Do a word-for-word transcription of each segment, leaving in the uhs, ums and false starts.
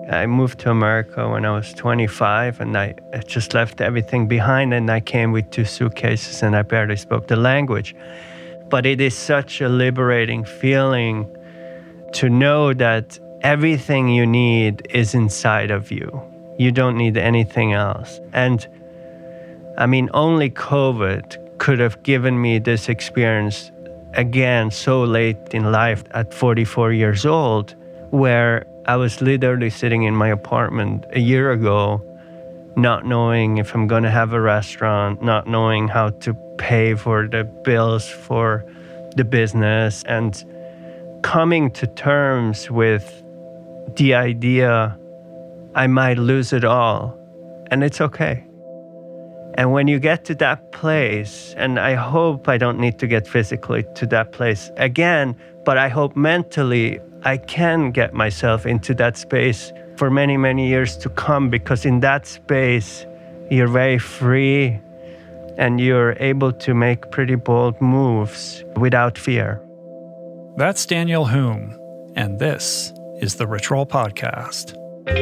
I moved to America when I was twenty-five, and I just left everything behind, and I came with two suitcases, and I barely spoke the language. But it is such a liberating feeling to know that everything you need is inside of you. You don't need anything else. And I mean, only COVID could have given me this experience again so late in life at forty-four years old, where I was literally sitting in my apartment a year ago, not knowing if I'm going to have a restaurant, not knowing how to pay for the bills for the business, and coming to terms with the idea I might lose it all, and it's okay. And when you get to that place, and I hope I don't need to get physically to that place again, but I hope mentally I can get myself into that space for many, many years to come, because in that space, you're very free and you're able to make pretty bold moves without fear. That's Daniel Humm, and this is the Rich Roll Podcast.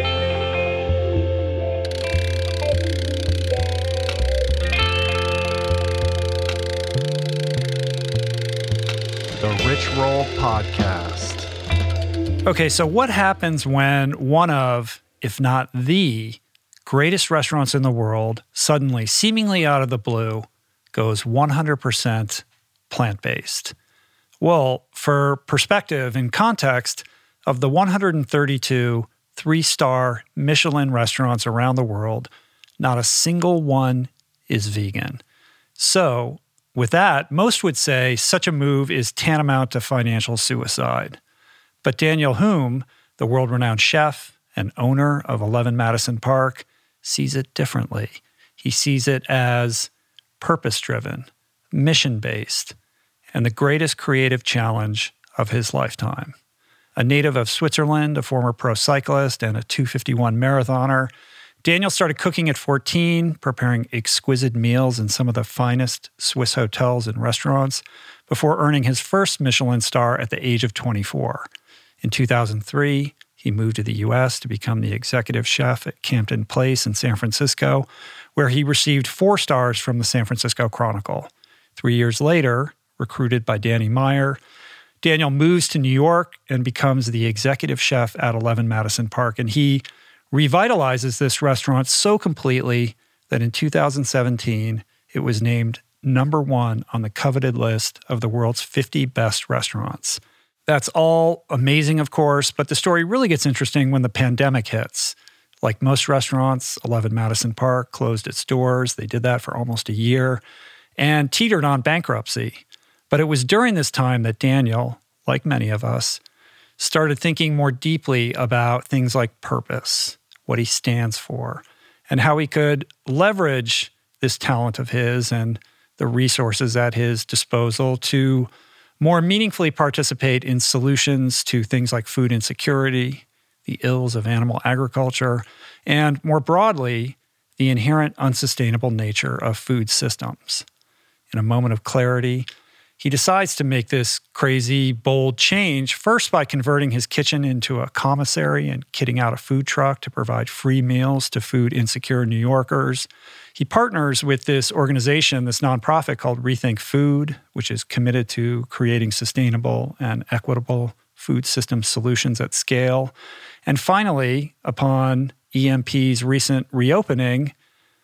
The Rich Roll Podcast. Okay, so what happens when one of, if not the, greatest restaurants in the world suddenly, seemingly out of the blue, goes one hundred percent plant-based? Well, for perspective and context, of the one hundred thirty-two three-star Michelin restaurants around the world, not a single one is vegan. So, with that, most would say such a move is tantamount to financial suicide. But Daniel Humm, the world-renowned chef and owner of eleven Madison Park, sees it differently. He sees it as purpose-driven, mission-based, and the greatest creative challenge of his lifetime. A native of Switzerland, a former pro cyclist, and a two fifty-one marathoner, Daniel started cooking at fourteen, preparing exquisite meals in some of the finest Swiss hotels and restaurants, before earning his first Michelin star at the age of twenty-four. In two thousand three, he moved to the U S to become the executive chef at Campton Place in San Francisco, where he received four stars from the San Francisco Chronicle. Three years later, recruited by Danny Meyer, Daniel moves to New York and becomes the executive chef at eleven Madison Park, and he revitalizes this restaurant so completely that in two thousand seventeen, it was named number one on the coveted list of the world's fifty best restaurants. That's all amazing, of course, but the story really gets interesting when the pandemic hits. Like most restaurants, eleven Madison Park closed its doors. They did that for almost a year and teetered on bankruptcy. But it was during this time that Daniel, like many of us, started thinking more deeply about things like purpose, what he stands for, and how he could leverage this talent of his and the resources at his disposal to more meaningfully participate in solutions to things like food insecurity, the ills of animal agriculture, and more broadly, the inherent unsustainable nature of food systems. In a moment of clarity, he decides to make this crazy, bold change, first by converting his kitchen into a commissary and kitting out a food truck to provide free meals to food insecure New Yorkers. He partners with this organization, this nonprofit called Rethink Food, which is committed to creating sustainable and equitable food system solutions at scale. And finally, upon E M P's recent reopening,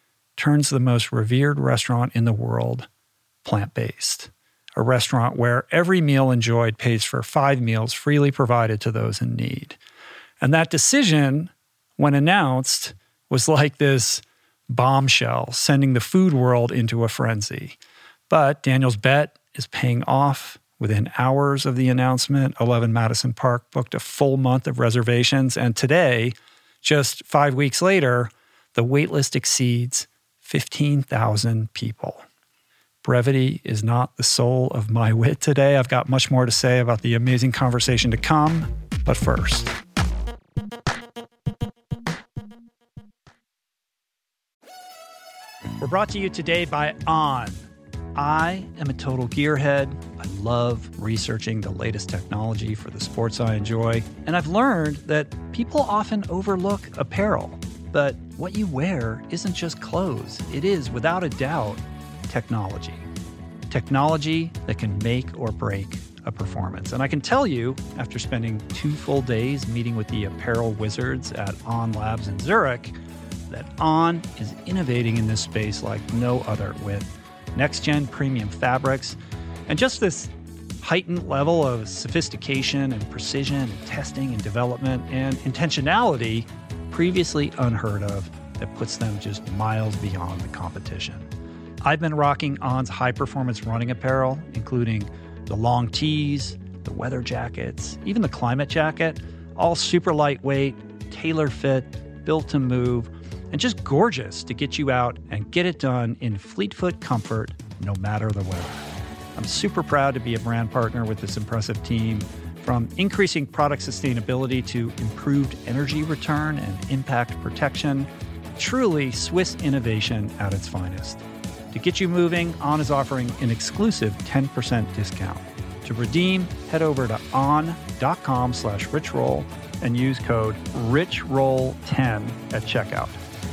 turns the most revered restaurant in the world plant-based. A restaurant where every meal enjoyed pays for five meals freely provided to those in need. And that decision, when announced, was like this bombshell, sending the food world into a frenzy. But Daniel's bet is paying off. Within hours of the announcement, eleven Madison Park booked a full month of reservations, and today, just five weeks later, the waitlist exceeds fifteen thousand people. Brevity is not the soul of my wit today. I've got much more to say about the amazing conversation to come, but first. We're brought to you today by On. I am a total gearhead. I love researching the latest technology for the sports I enjoy, and I've learned that people often overlook apparel. But what you wear isn't just clothes. It is, without a doubt, technology. Technology that can make or break a performance. And I can tell you, after spending two full days meeting with the apparel wizards at On Labs in Zurich, that On is innovating in this space like no other, with next-gen premium fabrics and just this heightened level of sophistication and precision and testing and development and intentionality previously unheard of that puts them just miles beyond the competition. I've been rocking On's high-performance running apparel, including the long tees, the weather jackets, even the climate jacket, all super lightweight, tailor-fit, built to move, and just gorgeous to get you out and get it done in fleet-foot comfort, no matter the weather. I'm super proud to be a brand partner with this impressive team, from increasing product sustainability to improved energy return and impact protection. Truly Swiss innovation at its finest. To get you moving, On is offering an exclusive ten percent discount. To redeem, head over to on.com slash richroll and use code rich roll ten at checkout.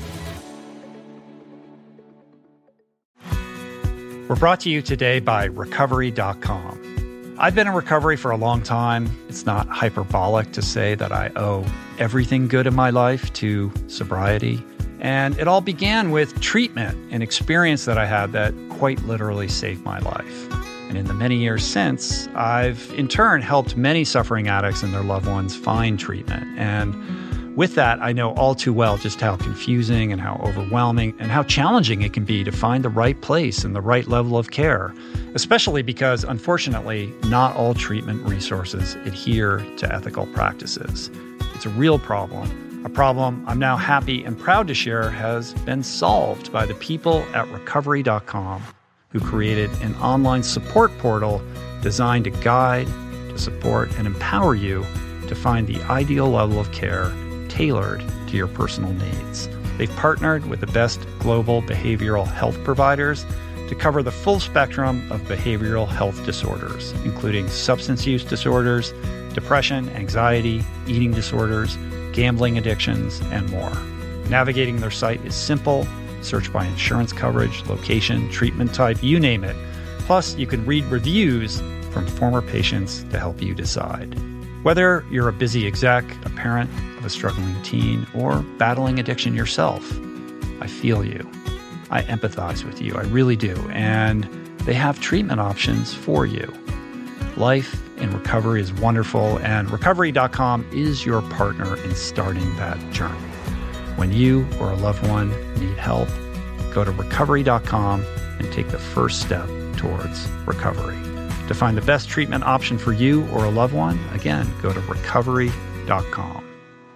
We're brought to you today by recovery dot com. I've been in recovery for a long time. It's not hyperbolic to say that I owe everything good in my life to sobriety. And it all began with treatment, an experience that I had that quite literally saved my life. And in the many years since, I've in turn helped many suffering addicts and their loved ones find treatment. And with that, I know all too well just how confusing and how overwhelming and how challenging it can be to find the right place and the right level of care, especially because, unfortunately, not all treatment resources adhere to ethical practices. It's a real problem. A problem I'm now happy and proud to share has been solved by the people at recovery dot com, who created an online support portal designed to guide, to support, and empower you to find the ideal level of care tailored to your personal needs. They've partnered with the best global behavioral health providers to cover the full spectrum of behavioral health disorders, including substance use disorders, depression, anxiety, eating disorders, gambling addictions, and more. Navigating their site is simple. Search by insurance coverage, location, treatment type, you name it. Plus, you can read reviews from former patients to help you decide. Whether you're a busy exec, a parent of a struggling teen, or battling addiction yourself, I feel you. I empathize with you. I really do. And they have treatment options for you. Life in recovery is wonderful, and recovery dot com is your partner in starting that journey. When you or a loved one need help, go to recovery dot com and take the first step towards recovery. To find the best treatment option for you or a loved one, again, go to recovery dot com.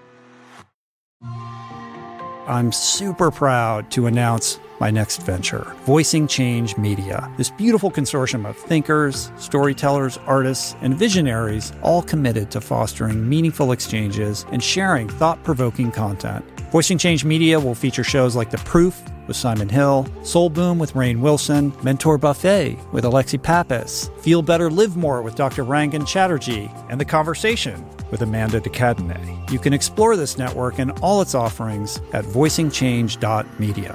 I'm super proud to announce my next venture, Voicing Change Media. This beautiful consortium of thinkers, storytellers, artists, and visionaries, all committed to fostering meaningful exchanges and sharing thought-provoking content. Voicing Change Media will feature shows like The Proof with Simon Hill, Soul Boom with Rainn Wilson, Mentor Buffet with Alexi Pappas, Feel Better, Live More with Doctor Rangan Chatterjee, and The Conversation with Amanda de Cadenet. You can explore this network and all its offerings at voicing change dot media.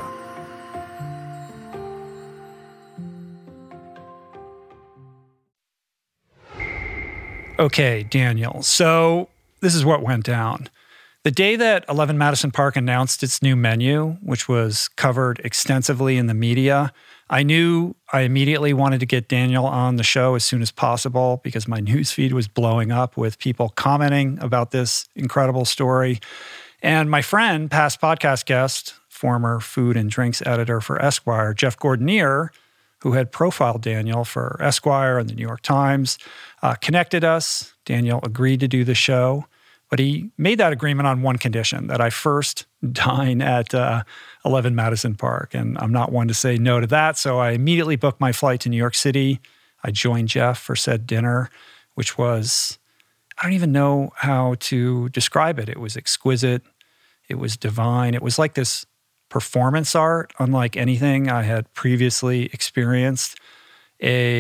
Okay, Daniel, so this is what went down. The day that eleven Madison Park announced its new menu, which was covered extensively in the media, I knew I immediately wanted to get Daniel on the show as soon as possible because my newsfeed was blowing up with people commenting about this incredible story. And my friend, past podcast guest, former food and drinks editor for Esquire, Jeff Gordonier, who had profiled Daniel for Esquire and the New York Times, uh, connected us. Daniel agreed to do the show, but he made that agreement on one condition, that I first dine at uh, eleven Madison Park. And I'm not one to say no to that, so I immediately booked my flight to New York City. I joined Jeff for said dinner, which was, I don't even know how to describe it. It was exquisite. It was divine. It was like this performance art, unlike anything I had previously experienced. A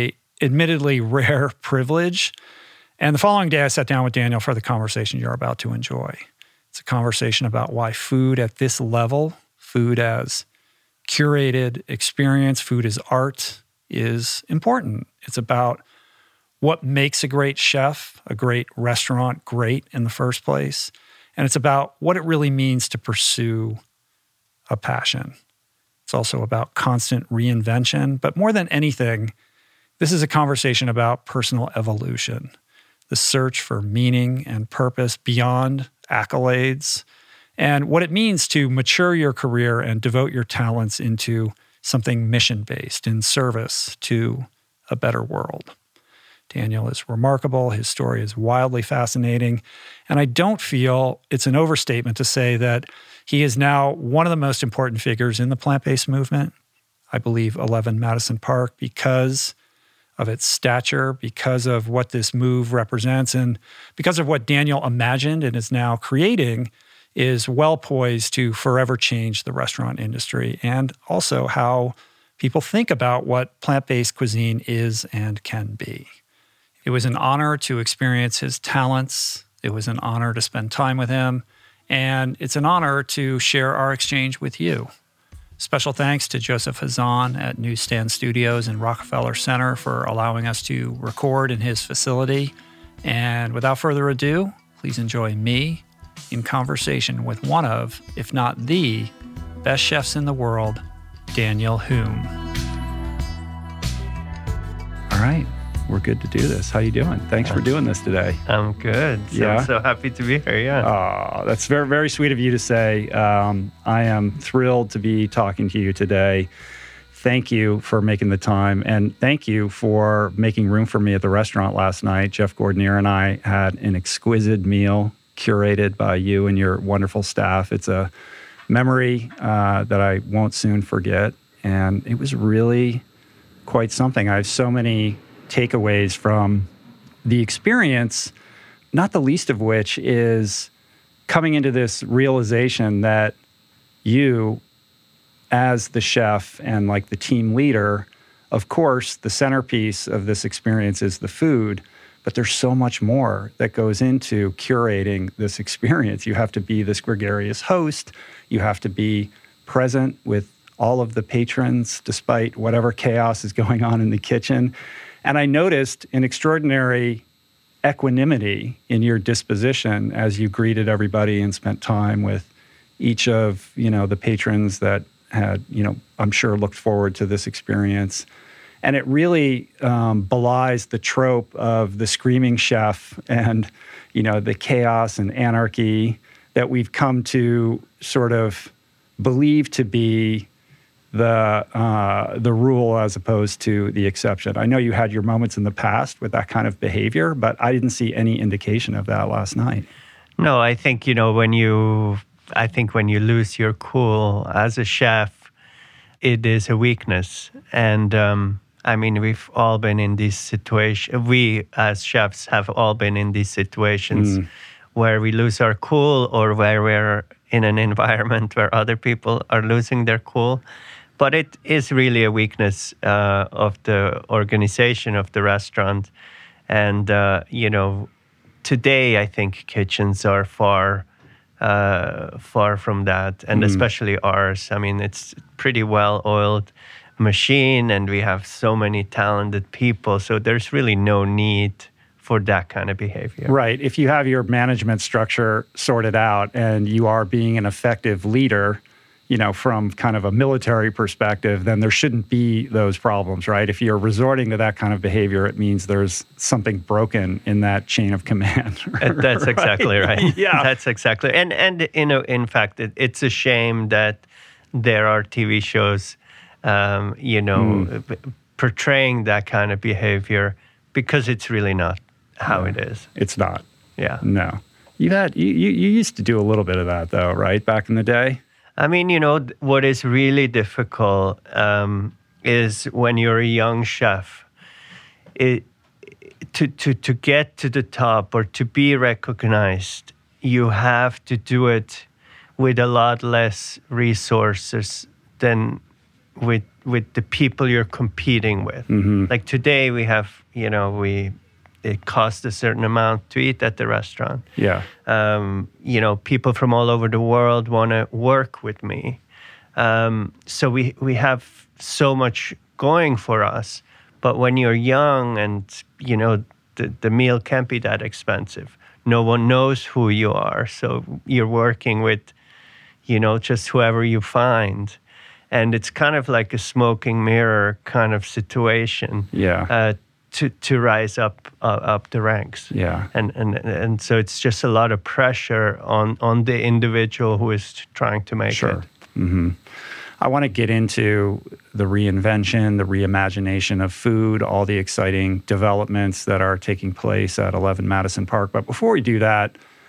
admittedly rare privilege. And the following day, I sat down with Daniel for the conversation you're about to enjoy. It's a conversation about why food at this level, food as curated experience, food as art, is important. It's about what makes a great chef, a great restaurant great in the first place. And it's about what it really means to pursue a passion. It's also about constant reinvention. But more than anything, this is a conversation about personal evolution, the search for meaning and purpose beyond accolades, and what it means to mature your career and devote your talents into something mission-based in service to a better world. Daniel is remarkable. His story is wildly fascinating. And I don't feel it's an overstatement to say that he is now one of the most important figures in the plant-based movement. I believe eleven Madison Park, because of its stature, because of what this move represents, and because of what Daniel imagined and is now creating, is well poised to forever change the restaurant industry and also how people think about what plant-based cuisine is and can be. It was an honor to experience his talents. It was an honor to spend time with him. And it's an honor to share our exchange with you. Special thanks to Joseph Hazan at Newsstand Studios in Rockefeller Center for allowing us to record in his facility. And without further ado, please enjoy me in conversation with one of, if not the, best chefs in the world, Daniel Humm. All right. We're good to do this. How you doing? Thanks for doing this today. I'm good. So, yeah. I'm so happy to be here. Yeah. Oh, that's very, very sweet of you to say. Um, I am thrilled to be talking to you today. Thank you for making the time. And thank you for making room for me at the restaurant last night. Jeff Gordonier and I had an exquisite meal curated by you and your wonderful staff. It's a memory uh, that I won't soon forget. And it was really quite something. I have so many takeaways from the experience, not the least of which is coming into this realization that you, as the chef and like the team leader, of course, the centerpiece of this experience is the food, but there's so much more that goes into curating this experience. You have to be this gregarious host. You have to be present with all of the patrons, despite whatever chaos is going on in the kitchen. And I noticed an extraordinary equanimity in your disposition as you greeted everybody and spent time with each of, you know, the patrons that had, you know, I'm sure looked forward to this experience. And it really um, belies the trope of the screaming chef and, you know, the chaos and anarchy that we've come to sort of believe to be the uh, the rule as opposed to the exception. I know you had your moments in the past with that kind of behavior, but I didn't see any indication of that last night. No, I think, you know, when you, I think when you lose your cool as a chef, it is a weakness. And um, I mean, we've all been in these situations. We as chefs have all been in these situations mm. where we lose our cool or where we're in an environment where other people are losing their cool. But it is really a weakness uh, of the organization of the restaurant. And, uh, you know, today I think kitchens are far, uh, far from that. And mm. especially ours. I mean, it's pretty well-oiled machine and we have so many talented people. So there's really no need for that kind of behavior. Right. If you have your management structure sorted out and you are being an effective leader, you know, from kind of a military perspective, then there shouldn't be those problems, right? If you're resorting to that kind of behavior, it means there's something broken in that chain of command. That's exactly right. right. Yeah. That's exactly. And, and you know, in fact, it, it's a shame that there are T V shows, um, you know, mm. p- portraying that kind of behavior because it's really not how yeah. it is. It's not. Yeah. No. You had you, you you used to do a little bit of that though, right? Back in the day? I mean, you know, what is really difficult um, is when you're a young chef, it, to, to, to get to the top or to be recognized, you have to do it with a lot less resources than with with the people you're competing with. Mm-hmm. Like today, we have you know we it costs a certain amount to eat at the restaurant. Yeah. Um, you know, people from all over the world want to work with me. Um, so we we have so much going for us. But when you're young and, you know, the, the meal can't be that expensive. No one knows who you are. So you're working with, you know, just whoever you find. And it's kind of like a smoking mirror kind of situation. Yeah. Uh, to to rise up uh, up the ranks. Yeah. And, and and so it's just a lot of pressure on, on the individual who is trying to make Sure. it. Mm-hmm. I want to get into the reinvention, the reimagination of food, all the exciting developments that are taking place at eleven Madison Park. But before we do that,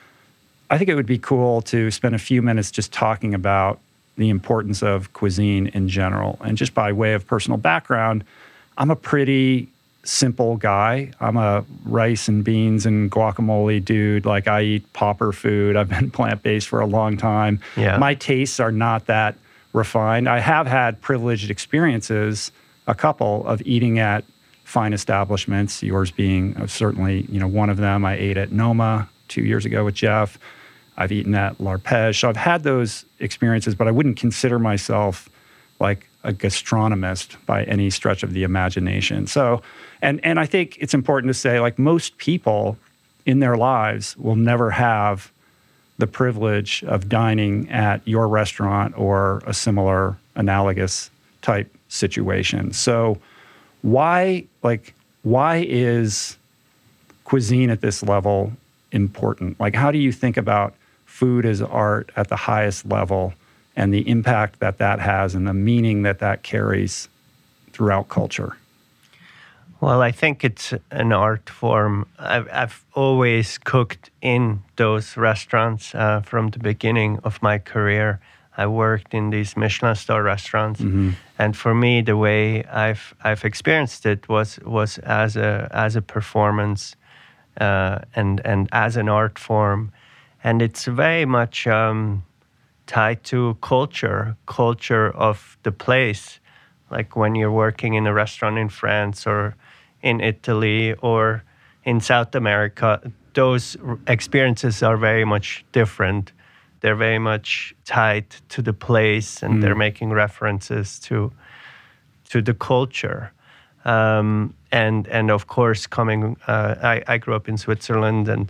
I think it would be cool to spend a few minutes just talking about the importance of cuisine in general. And just by way of personal background, I'm a pretty simple guy. I'm a rice and beans and guacamole dude. Like, I eat pauper food. I've been plant-based for a long time. Yeah. My tastes are not that refined. I have had privileged experiences, a couple, of eating at fine establishments, yours being certainly, you know, one of them. I ate at Noma two years ago with Jeff. I've eaten at L'Arpège. So I've had those experiences, but I wouldn't consider myself like a gastronomist by any stretch of the imagination. So, and and I think it's important to say, like, most people in their lives will never have the privilege of dining at your restaurant or a similar analogous type situation. So why, like, why is cuisine at this level important? Like, how do you think about food as art at the highest level and the impact that that has and the meaning that that carries throughout culture? Well, I think it's an art form. I've, I've always cooked in those restaurants uh, from the beginning of my career. I worked in these Michelin star restaurants, mm-hmm. and for me, the way I've I've experienced it was was as a as a performance, uh, and and as an art form, and it's very much um, tied to culture, culture of the place. Like when you're working in a restaurant in France or in Italy or in South America, those experiences are very much different. They're very much tied to the place, and mm. they're making references to to the culture. Um, and and of course, coming, uh, I, I grew up in Switzerland, and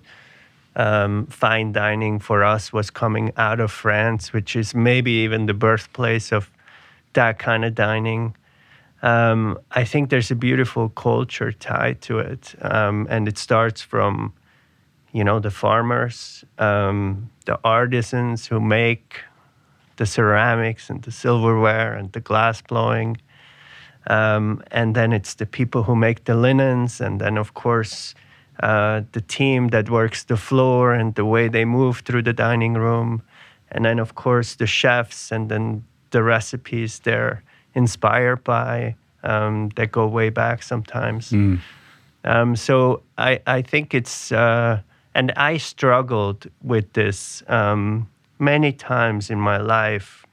um, fine dining for us was coming out of France, which is maybe even the birthplace of that kind of dining. Um, I think there's a beautiful culture tied to it, um, and it starts from, you know, the farmers, um, the artisans who make the ceramics and the silverware and the glass blowing, um, and then it's the people who make the linens, and then of course uh, the team that works the floor and the way they move through the dining room, and then of course the chefs, and then the recipes they're inspired by, um, that go way back sometimes. Mm. Um, so I, I think it's, uh, and I struggled with this um, many times in my life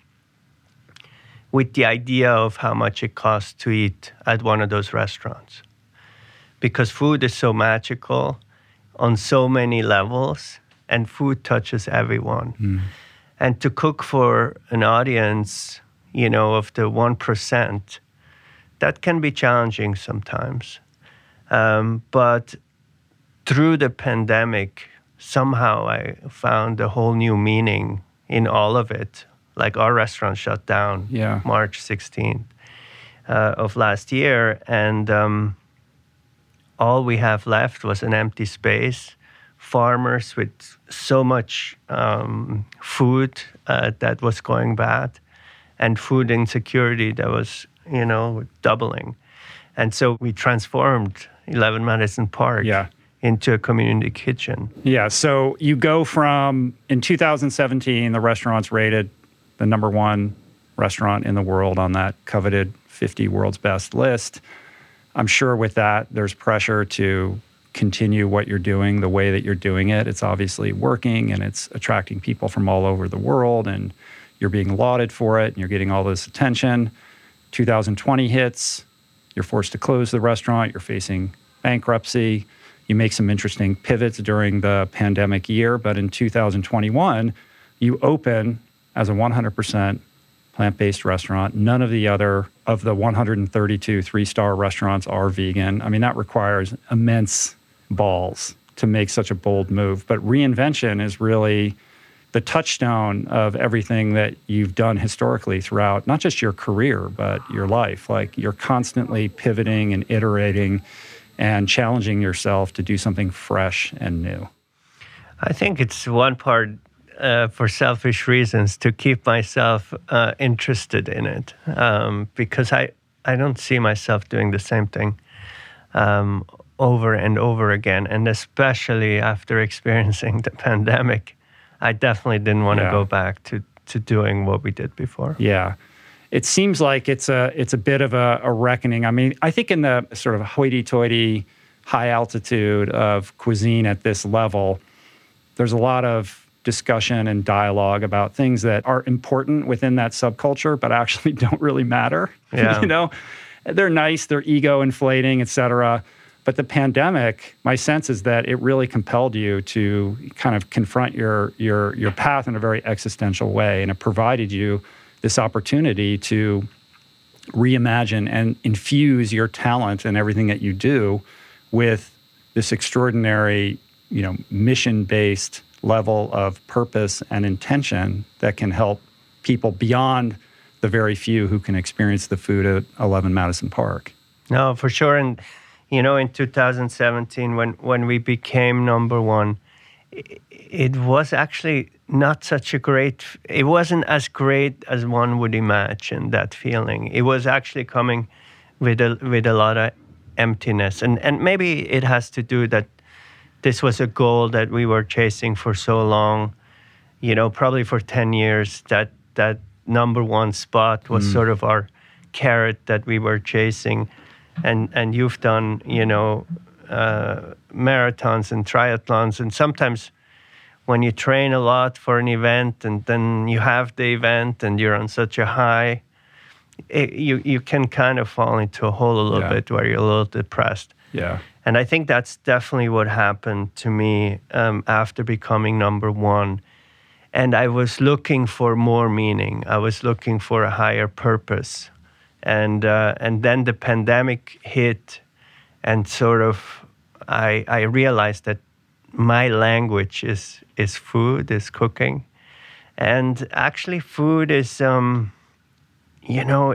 with the idea of how much it costs to eat at one of those restaurants. Because food is so magical on so many levels, and food touches everyone. Mm. And to cook for an audience, you know, of the one percent, that can be challenging sometimes. Um, but through the pandemic, somehow I found a whole new meaning in all of it. Like our restaurant shut down yeah. March sixteenth uh, of last year, and um, all we have left was an empty space, farmers with so much um, food uh, that was going bad, and food insecurity that was, you know, doubling. And so we transformed eleven Madison Park yeah. into a community kitchen. Yeah, so you go from, in two thousand seventeen, the restaurant's rated the number one restaurant in the world on that coveted fifty world's best list. I'm sure with that, there's pressure to continue what you're doing the way that you're doing it. It's obviously working, and it's attracting people from all over the world, and you're being lauded for it, and you're getting all this attention. two thousand twenty hits, you're forced to close the restaurant, you're facing bankruptcy. You make some interesting pivots during the pandemic year, but in two thousand twenty-one, you open as a one hundred percent plant-based restaurant. None of the other of the one hundred thirty-two three-star restaurants are vegan. I mean, that requires immense balls to make such a bold move. But reinvention is really the touchstone of everything that you've done historically throughout, not just your career, but your life. Like, you're constantly pivoting and iterating and challenging yourself to do something fresh and new. I think it's one part uh, for selfish reasons to keep myself uh, interested in it, um, because I, I don't see myself doing the same thing um, over and over again. And especially after experiencing the pandemic, I definitely didn't want to Yeah. go back to, to doing what we did before. Yeah. It seems like it's a it's a bit of a, a reckoning. I mean, I think in the sort of hoity-toity high altitude of cuisine at this level, there's a lot of discussion and dialogue about things that are important within that subculture, but actually don't really matter. Yeah. You know, they're nice, they're ego inflating, et cetera. But the pandemic, my sense is that it really compelled you to kind of confront your your your path in a very existential way, and it provided you this opportunity to reimagine and infuse your talent and everything that you do with this extraordinary, you know, mission-based level of purpose and intention that can help people beyond the very few who can experience the food at eleven Madison Park. No, for sure. And, you know, in two thousand seventeen, when, when we became number one, it, it was actually not such a great, it wasn't as great as one would imagine, that feeling. It was actually coming with a, with a lot of emptiness. And, and maybe it has to do that this was a goal that we were chasing for so long, you know, probably for ten years, that that number one spot was mm. sort of our carrot that we were chasing. And and you've done, you know, uh, marathons and triathlons, and sometimes when you train a lot for an event and then you have the event and you're on such a high, it, you, you can kind of fall into a hole a little Yeah. bit where you're a little depressed. Yeah. And I think that's definitely what happened to me um, after becoming number one. And I was looking for more meaning. I was looking for a higher purpose. And uh, and then the pandemic hit, and sort of I I realized that my language is is food, is cooking. And actually food is, um, you know,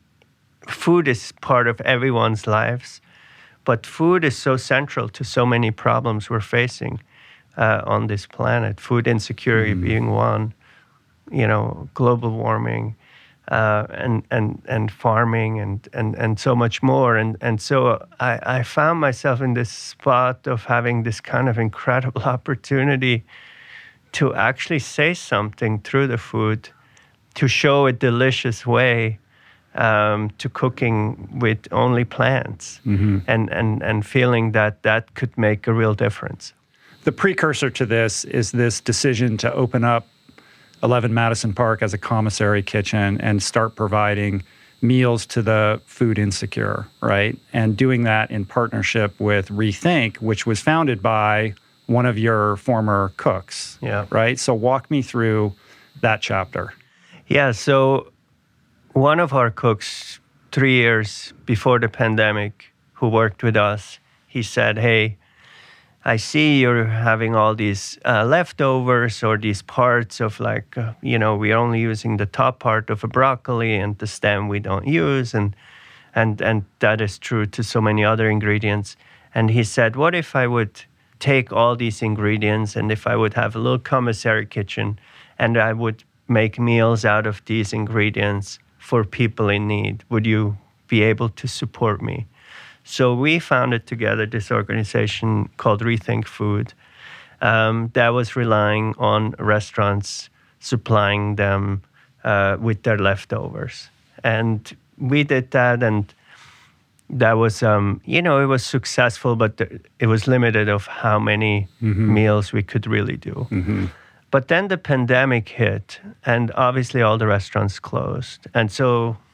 food is part of everyone's lives. But food is so central to so many problems we're facing uh, on this planet. Food insecurity mm. being one, you know, global warming, uh, and and and farming, and and and so much more. And and so I, I found myself in this spot of having this kind of incredible opportunity to actually say something through the food, to show a delicious way. Um, to cooking with only plants, mm-hmm. and, and, and feeling that that could make a real difference. The precursor to this is this decision to open up eleven Madison Park as a commissary kitchen and start providing meals to the food insecure, right? And doing that in partnership with Rethink, which was founded by one of your former cooks, yeah. right? So walk me through that chapter. Yeah, so one of our cooks, three years before the pandemic, who worked with us, he said, hey, I see you're having all these uh, leftovers or these parts of like, uh, you know, we're only using the top part of a broccoli and the stem we don't use. And, and, and that is true to so many other ingredients. And he said, what if I would take all these ingredients and if I would have a little commissary kitchen and I would make meals out of these ingredients for people in need? Would you be able to support me? So we founded together this organization called Rethink Food um, that was relying on restaurants supplying them uh, with their leftovers. And we did that, and that was, um, you know, it was successful, but th- it was limited of how many mm-hmm. meals we could really do. Mm-hmm. But then the pandemic hit, and obviously all the restaurants closed. And so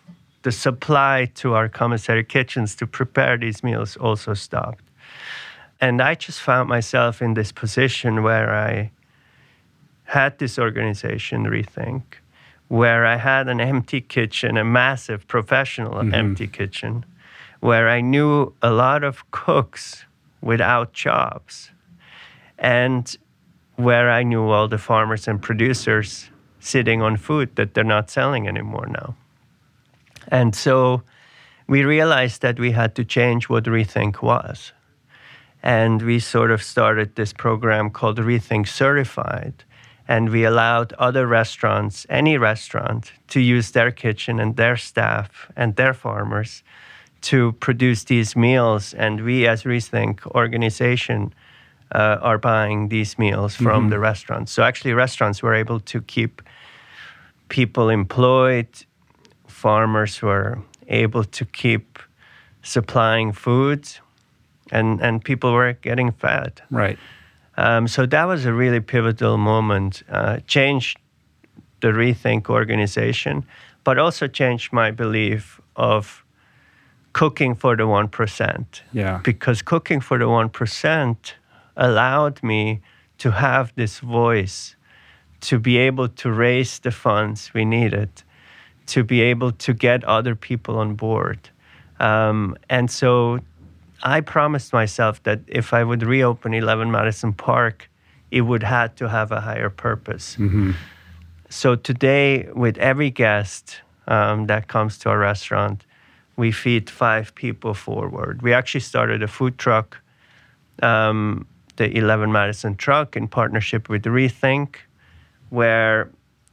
the supply to our commissary kitchens to prepare these meals also stopped. And I just found myself in this position where I had this organization, Rethink, where I had an empty kitchen, a massive professional mm-hmm. empty kitchen, where I knew a lot of cooks without jobs, and where I knew all the farmers and producers sitting on food that they're not selling anymore now. And so we realized that we had to change what Rethink was. And we sort of started this program called Rethink Certified. And we allowed other restaurants, any restaurant, to use their kitchen and their staff and their farmers to produce these meals. And we, as Rethink organization, uh, are buying these meals from mm-hmm. the restaurants. So actually, restaurants were able to keep people employed. Farmers were able to keep supplying food, and, and people were getting fed. Right. Um, so that was a really pivotal moment. Uh, changed the Rethink organization, but also changed my belief of cooking for the one percent. Yeah. Because cooking for the one percent allowed me to have this voice, to be able to raise the funds we needed, to be able to get other people on board. Um, and so I promised myself that if I would reopen eleven Madison Park, it would have to have a higher purpose. Mm-hmm. So today, with every guest um, that comes to our restaurant, we feed five people forward. We actually started a food truck, um, the eleven Madison truck, in partnership with Rethink, where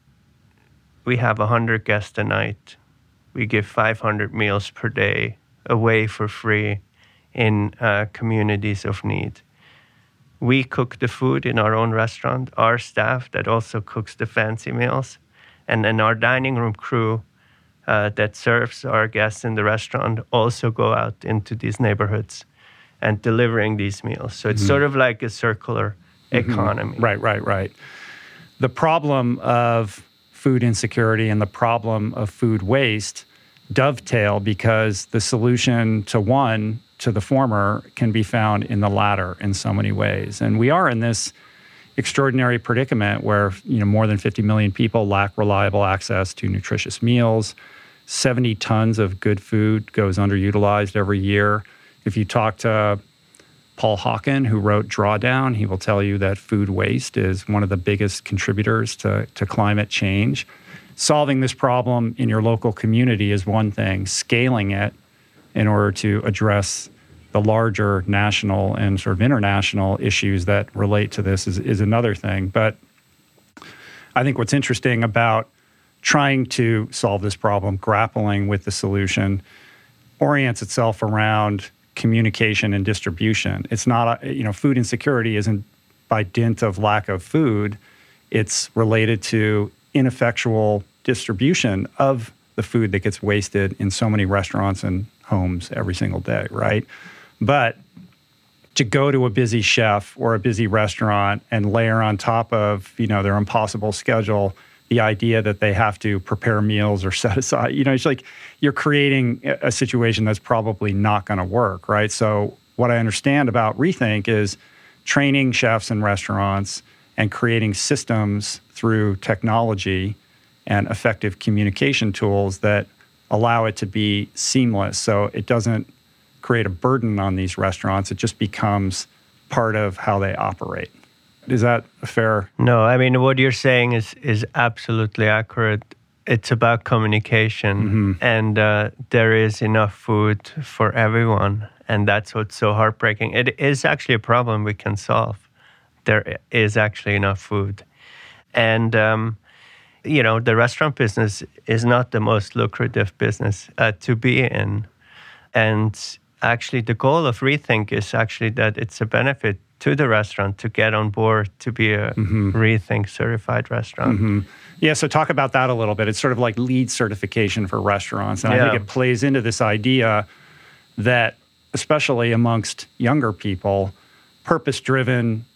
we have one hundred guests a night. We give five hundred meals per day away for free in uh, communities of need. We cook the food in our own restaurant, our staff that also cooks the fancy meals, and then our dining room crew uh, that serves our guests in the restaurant also go out into these neighborhoods and delivering these meals. So it's mm-hmm. sort of like a circular mm-hmm. economy. Right, right, right. The problem of food insecurity and the problem of food waste dovetail because the solution to one, to the former, can be found in the latter in so many ways. And we are in this extraordinary predicament where, you know, more than fifty million people lack reliable access to nutritious meals. seventy tons of good food goes underutilized every year. If you talk to Paul Hawken, who wrote Drawdown, he will tell you that food waste is one of the biggest contributors to, to climate change. Solving this problem in your local community is one thing. Scaling it in order to address the larger national and sort of international issues that relate to this is, is another thing. But I think what's interesting about trying to solve this problem, grappling with the solution, orients itself around communication and distribution. It's not, a, you know, food insecurity isn't by dint of lack of food. It's related to ineffectual distribution of the food that gets wasted in so many restaurants and homes every single day, right? But to go to a busy chef or a busy restaurant and layer on top of, you know, their impossible schedule the idea that they have to prepare meals or set aside, you know, it's like you're creating a situation that's probably not going to work, right? So what I understand about Rethink is training chefs in restaurants and creating systems through technology and effective communication tools that allow it to be seamless. So it doesn't create a burden on these restaurants. It just becomes part of how they operate. Is that a fair? No, I mean, what you're saying is is absolutely accurate. It's about communication, mm-hmm. and uh, there is enough food for everyone, and that's what's so heartbreaking. It is actually a problem we can solve. There is actually enough food. And, um, you know, the restaurant business is not the most lucrative business uh, to be in. And actually, the goal of Rethink is actually that it's a benefit to the restaurant to get on board to be a mm-hmm. Rethink certified restaurant. Mm-hmm. Yeah, so talk about that a little bit. It's sort of like LEED certification for restaurants. And yeah. I think it plays into this idea that, especially amongst younger people, purpose-driven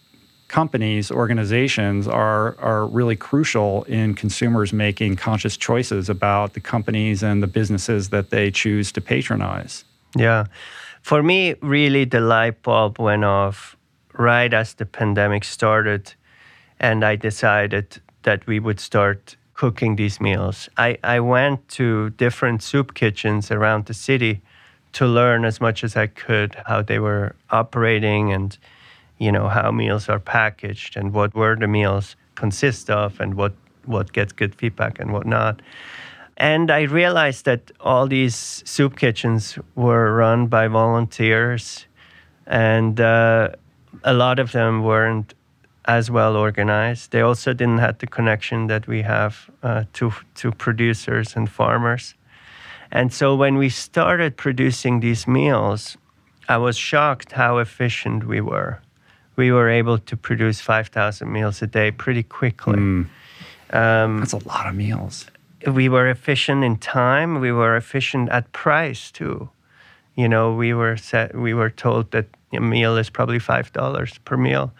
companies, organizations are are really crucial in consumers making conscious choices about the companies and the businesses that they choose to patronize. Yeah. For me, really, the light bulb went off right as the pandemic started, and I decided that we would start cooking these meals. I, I went to different soup kitchens around the city to learn as much as I could how they were operating and, you know, how meals are packaged and what were the meals consist of and what, what gets good feedback and what not. And I realized that all these soup kitchens were run by volunteers, and uh, a lot of them weren't as well organized. They also didn't have the connection that we have uh, to to producers and farmers. And so when we started producing these meals, I was shocked how efficient we were. We were able to produce five thousand meals a day pretty quickly. Mm. Um, That's a lot of meals. We were efficient in time. We were efficient at price too. You know, we were set, we were told that a meal is probably five dollars per meal,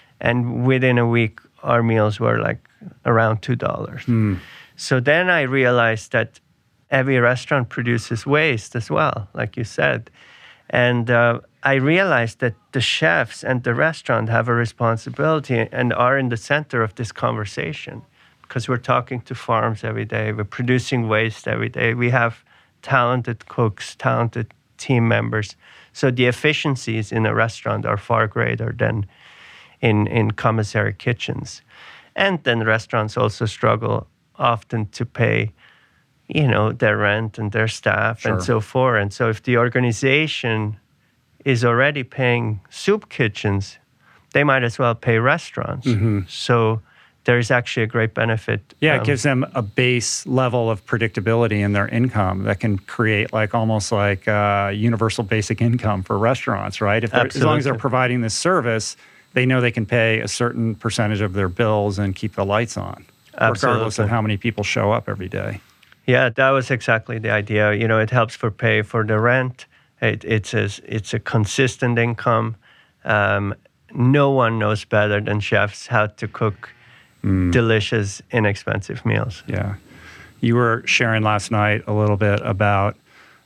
and within a week, our meals were like around two dollars. Mm. So then I realized that every restaurant produces waste as well, like you said, and uh, I realized that the chefs and the restaurant have a responsibility and are in the center of this conversation. Because we're talking to farms every day, we're producing waste every day. We have talented cooks, talented team members. So the efficiencies in a restaurant are far greater than in, in commissary kitchens. And then restaurants also struggle often to pay, you know, their rent and their staff Sure. and so forth. And so if the organization is already paying soup kitchens, they might as well pay restaurants. Mm-hmm. So there is actually a great benefit. Yeah, um, it gives them a base level of predictability in their income that can create like almost like uh, universal basic income for restaurants, right? If they're- as long as they're Absolutely. providing this service, they know they can pay a certain percentage of their bills and keep the lights on, regardless Absolutely. of how many people show up every day. Yeah, that was exactly the idea. You know, it helps for pay for the rent. It, it's a, it's a consistent income. Um, no one knows better than chefs how to cook Mm. delicious, inexpensive meals. Yeah. You were sharing last night a little bit about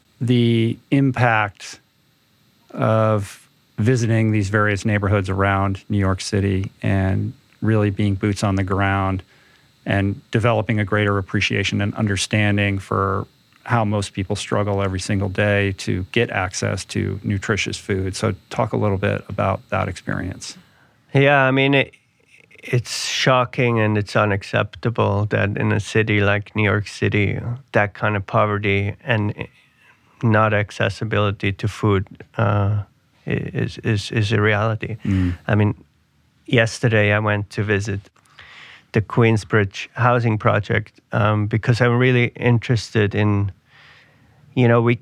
the impact of visiting these various neighborhoods around New York City and really being boots on the ground and developing a greater appreciation and understanding for how most people struggle every single day to get access to nutritious food. So talk a little bit about that experience. Yeah, I mean, it, it's shocking and it's unacceptable that in a city like New York City, that kind of poverty and not accessibility to food uh, is, is, is a reality. Mm. I mean, yesterday I went to visit the Queensbridge housing project um, because I'm really interested in, you know, we,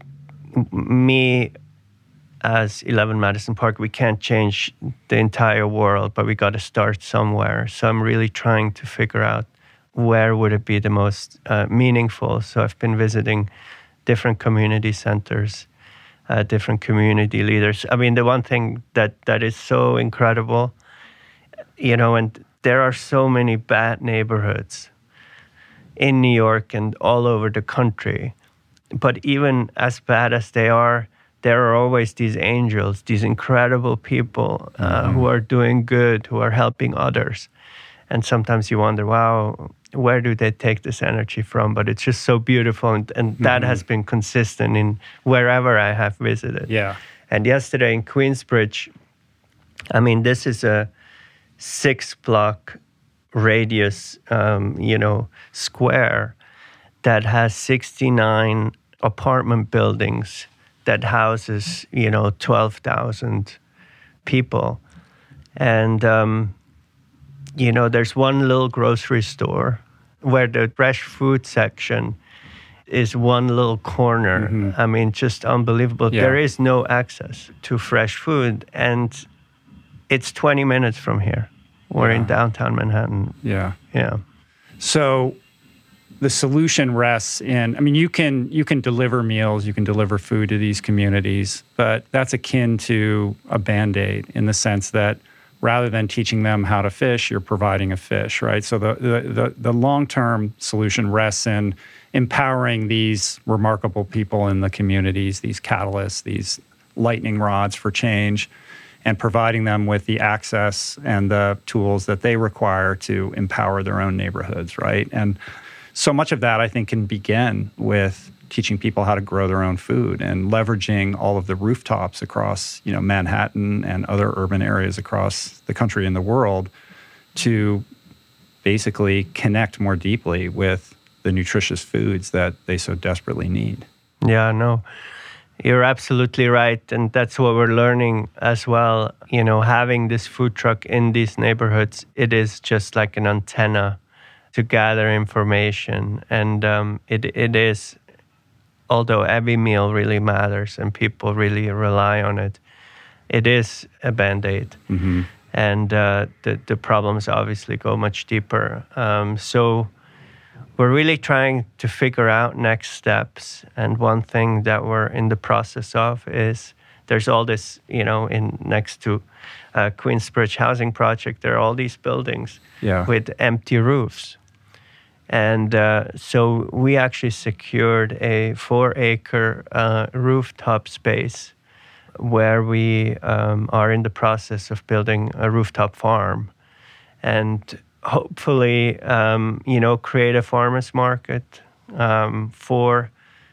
me as eleven Madison Park, we can't change the entire world, but we got to start somewhere. So I'm really trying to figure out where would it be the most uh, meaningful. So I've been visiting different community centers, uh, different community leaders. I mean, the one thing that, that is so incredible, you know, and there are so many bad neighborhoods in New York and all over the country. But even as bad as they are, there are always these angels, these incredible people uh, mm-hmm. who are doing good, who are helping others. And sometimes you wonder, wow, where do they take this energy from? But it's just so beautiful. And, and mm-hmm. that has been consistent in wherever I have visited. Yeah. And yesterday in Queensbridge, I mean, this is a six block radius, um, you know, square that has sixty-nine apartment buildings that houses, you know, twelve thousand people. And, um, you know, there's one little grocery store where the fresh food section is one little corner. Mm-hmm. I mean, just unbelievable. Yeah. There is no access to fresh food. And it's twenty minutes from here. We're yeah. in downtown Manhattan. Yeah. Yeah. So the solution rests in, I mean, you can you can deliver meals, you can deliver food to these communities, but that's akin to a Band-Aid in the sense that rather than teaching them how to fish, you're providing a fish, right? So the the the, the long-term solution rests in empowering these remarkable people in the communities, these catalysts, these lightning rods for change, and providing them with the access and the tools that they require to empower their own neighborhoods, right? And so much of that, I think, can begin with teaching people how to grow their own food and leveraging all of the rooftops across, you know, Manhattan and other urban areas across the country and the world to basically connect more deeply with the nutritious foods that they so desperately need. Yeah, no, you're absolutely right. And that's what we're learning as well. You know, having this food truck in these neighborhoods, it is just like an antenna to gather information. And um, it it is, although every meal really matters and people really rely on it, it is a Band-Aid. Mm-hmm. And uh, the, the problems obviously go much deeper. Um, so we're really trying to figure out next steps. And one thing that we're in the process of is there's all this, you know, in next to uh, Queensbridge Housing Project, there are all these buildings yeah. with empty roofs. And uh, so we actually secured a four-acre uh, rooftop space where we um, are in the process of building a rooftop farm. And hopefully, um, you know, create a farmer's market um, for,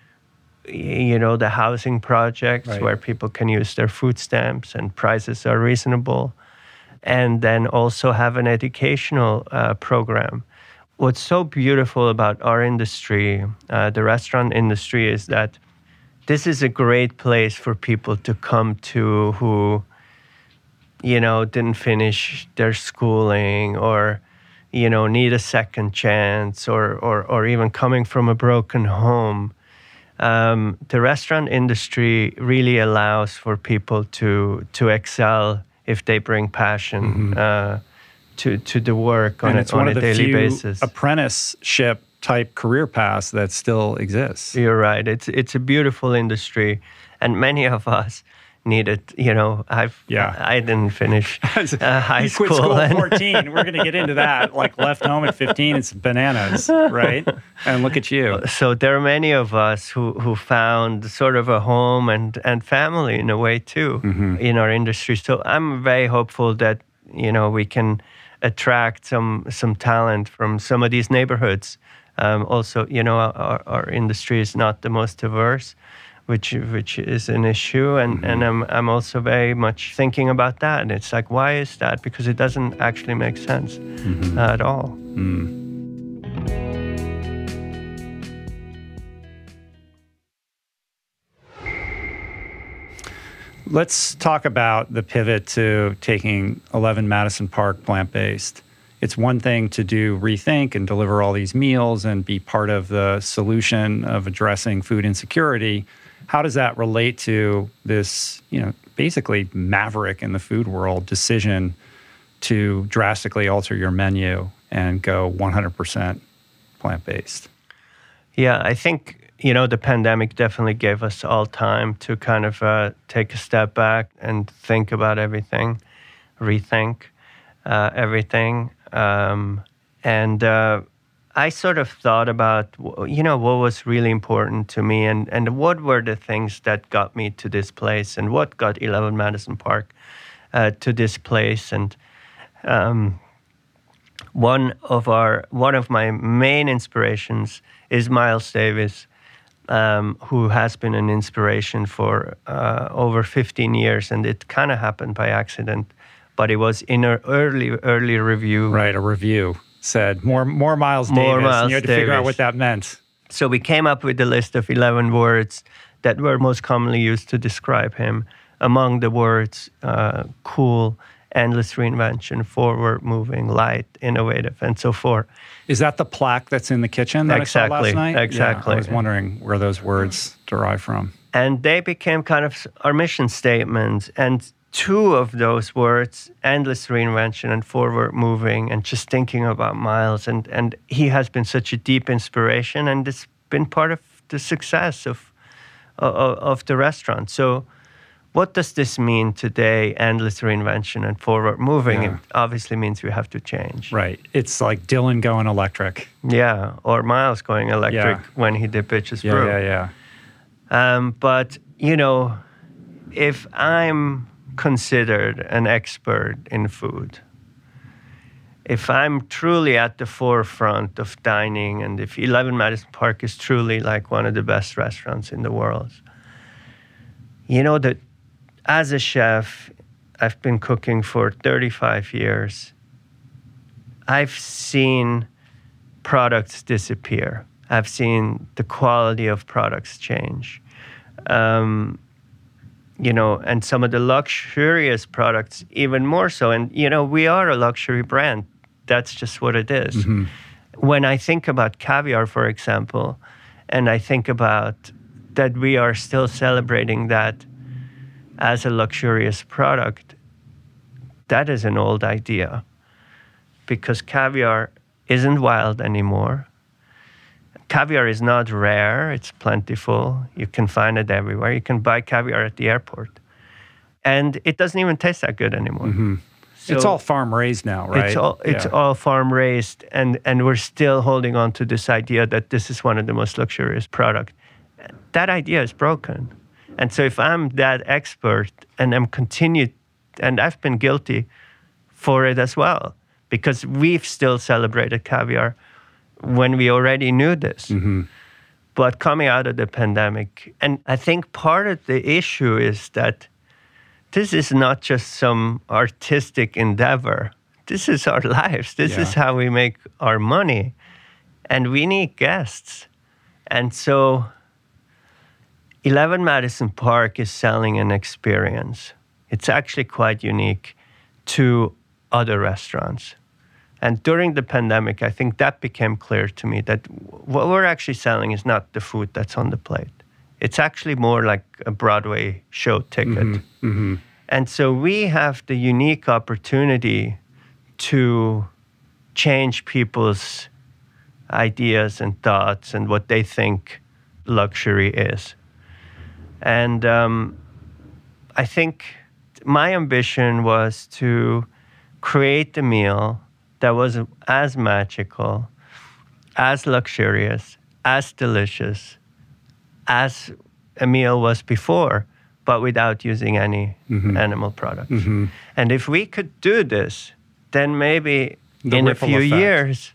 you know, the housing projects right. where people can use their food stamps and prices are reasonable. And then also have an educational uh, program. What's so beautiful about our industry, uh, the restaurant industry, is that this is a great place for people to come to who, you know, didn't finish their schooling or, you know, need a second chance or or, or even coming from a broken home. Um, the restaurant industry really allows for people to to excel if they bring passion mm-hmm. uh, to to the work on, and a, it's on one a of the daily few basis. Apprenticeship type career paths that still exists. You're right. It's it's a beautiful industry, and many of us need it. You know, I've yeah. I didn't finish uh, high you school. quit school at and fourteen. We're going to get into that. Like left home at fifteen, it's bananas, right? And look at you. So there are many of us who who found sort of a home and and family in a way too mm-hmm. in our industry. So I'm very hopeful that, you know, we can attract some some talent from some of these neighborhoods. Um, also, you know, our, our industry is not the most diverse, which which is an issue, and, mm-hmm. and I'm I'm also very much thinking about that. And it's like, why is that? Because it doesn't actually make sense mm-hmm. uh, at all. Mm. Let's talk about the pivot to taking eleven Madison Park plant-based. It's one thing to do Rethink and deliver all these meals and be part of the solution of addressing food insecurity. How does that relate to this, you know, basically maverick in the food world decision to drastically alter your menu and go one hundred percent plant-based? Yeah, I think, you know, the pandemic definitely gave us all time to kind of uh, take a step back and think about everything, rethink uh, everything. Um, and uh, I sort of thought about, you know, what was really important to me and, and what were the things that got me to this place and what got eleven Madison Park uh, to this place. And um, one of our one of my main inspirations is Miles Davis, um, who has been an inspiration for uh, over fifteen years. And it kind of happened by accident. But it was in an early, early review. Right, a review said more more Miles more Davis. Miles and you had to Davis. figure out what that meant. So we came up with a list of eleven words that were most commonly used to describe him. Among the words, uh, cool, endless reinvention, forward-moving, light, innovative, and so forth. Is that the plaque that's in the kitchen that exactly, I saw last night? Exactly. Yeah, I was wondering where those words derive from. And they became kind of our mission statement. And two of those words, endless reinvention and forward moving, and just thinking about Miles. And, and he has been such a deep inspiration, and it's been part of the success of, of, of the restaurant. So what does this mean today? Endless reinvention and forward moving. Yeah. It obviously means we have to change. Right. It's like Dylan going electric. Yeah, or Miles going electric Yeah. when he did Bitches Yeah, Brew. yeah, yeah. Um, but, you know, if I'm considered an expert in food, if I'm truly at the forefront of dining, and if eleven Madison Park is truly like one of the best restaurants in the world, you know that as a chef, I've been cooking for thirty-five years. I've seen products disappear. I've seen the quality of products change. Um, you know, and some of the luxurious products even more so. And, you know, we are a luxury brand. That's just what it is. Mm-hmm. When I think about caviar, for example, and I think about that we are still celebrating that as a luxurious product, that is an old idea, because caviar isn't wild anymore. Caviar is not rare, it's plentiful. You can find it everywhere. You can buy caviar at the airport. And it doesn't even taste that good anymore. Mm-hmm. So it's all farm raised now, right? It's all, it's Yeah. all farm raised, and, and we're still holding on to this idea that this is one of the most luxurious products. That idea is broken. And so if I'm that expert and I'm continued, and I've been guilty for it as well, because we've still celebrated caviar when we already knew this. Mm-hmm. But coming out of the pandemic, and I think part of the issue is that this is not just some artistic endeavor. This is our lives. This Yeah. is how we make our money. And we need guests. And so eleven Madison Park is selling an experience. It's actually quite unique to other restaurants. And during the pandemic, I think that became clear to me that what we're actually selling is not the food that's on the plate. It's actually more like a Broadway show ticket. Mm-hmm. Mm-hmm. And so we have the unique opportunity to change people's ideas and thoughts and what they think luxury is. And um, I think my ambition was to create a meal that was as magical, as luxurious, as delicious as a meal was before, but without using any Mm-hmm. animal products. Mm-hmm. And if we could do this, then maybe The in a ripple few effect. years,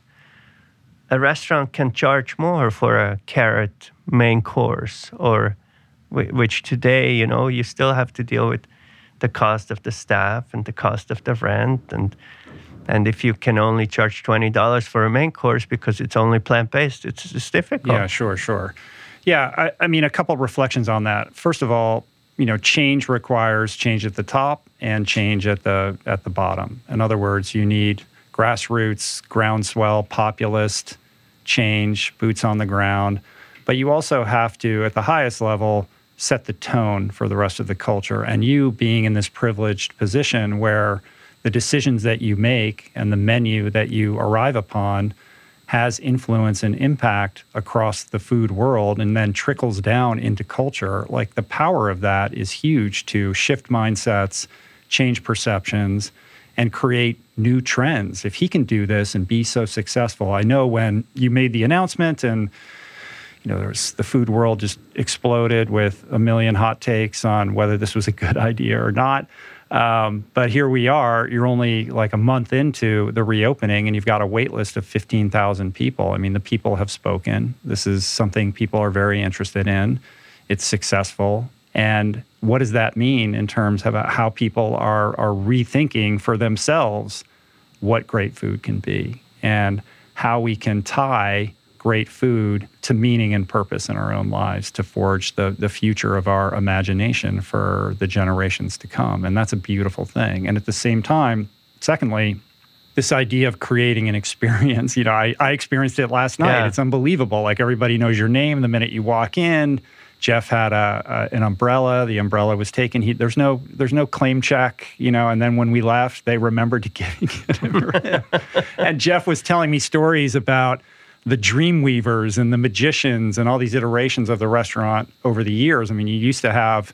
a restaurant can charge more for a carrot main course, or wh- which today, you know, you still have to deal with the cost of the staff and the cost of the rent. And and if you can only charge twenty dollars for a main course because it's only plant-based, it's, it's difficult. Yeah, sure, sure. Yeah, I, I mean, a couple of reflections on that. First of all, you know, change requires change at the top and change at the at the bottom. In other words, you need grassroots, groundswell, populist change, boots on the ground. But you also have to, at the highest level, set the tone for the rest of the culture. And you being in this privileged position where the decisions that you make and the menu that you arrive upon has influence and impact across the food world and then trickles down into culture, like the power of that is huge to shift mindsets, change perceptions, and create new trends. If he can do this and be so successful, I know when you made the announcement and you know, there was, the food world just exploded with a million hot takes on whether this was a good idea or not. Um, but here we are, you're only like a month into the reopening and you've got a wait list of fifteen thousand people. I mean, the people have spoken. This is something people are very interested in. It's successful. And what does that mean in terms of how people are, are rethinking for themselves what great food can be and how we can tie great food to meaning and purpose in our own lives to forge the, the future of our imagination for the generations to come. And that's a beautiful thing. And at the same time, secondly, this idea of creating an experience, you know, I, I experienced it last night. Yeah. It's unbelievable. Like everybody knows your name the minute you walk in. Jeff had a, a an umbrella. The umbrella was taken. He, there's no there's no claim check, you know. And then when we left, they remembered to get, get it for him. And Jeff was telling me stories about the dream weavers and the magicians and all these iterations of the restaurant over the years. I mean, you used to have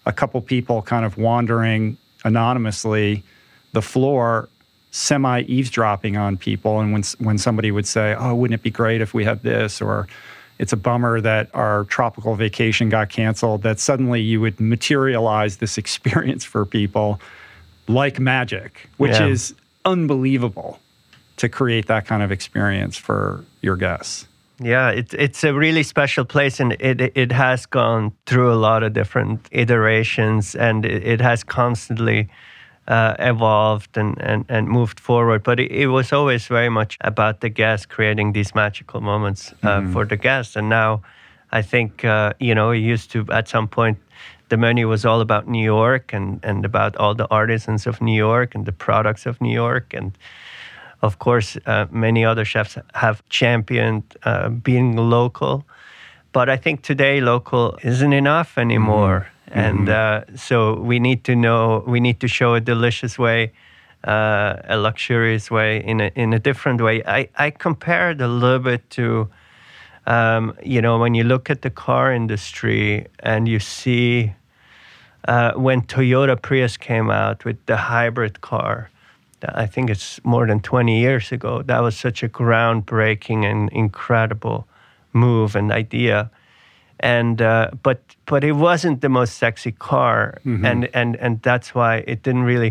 a couple people kind of wandering anonymously the floor, semi-eavesdropping on people. And when when somebody would say, oh, wouldn't it be great if we had this? Or it's a bummer that our tropical vacation got canceled, that suddenly you would materialize this experience for people like magic, which Yeah. is unbelievable to create that kind of experience for your guests. Yeah, it's it's a really special place, and it it has gone through a lot of different iterations, and it, it has constantly uh, evolved and, and, and moved forward. But it, it was always very much about the guest, creating these magical moments uh, Mm-hmm. for the guests. And now, I think uh, you know, it used to at some point, the menu was all about New York and and about all the artisans of New York and the products of New York. And of course, uh, many other chefs have championed uh, being local, but I think today local isn't enough anymore. Mm-hmm. And uh, so we need to know, we need to show a delicious way, uh, a luxurious way, in a in a different way. I, I compare it a little bit to, um, you know, when you look at the car industry and you see uh, when Toyota Prius came out with the hybrid car. I think it's more than twenty years ago. That was such a groundbreaking and incredible move and idea. And uh, but but it wasn't the most sexy car, Mm-hmm. and, and and that's why it didn't really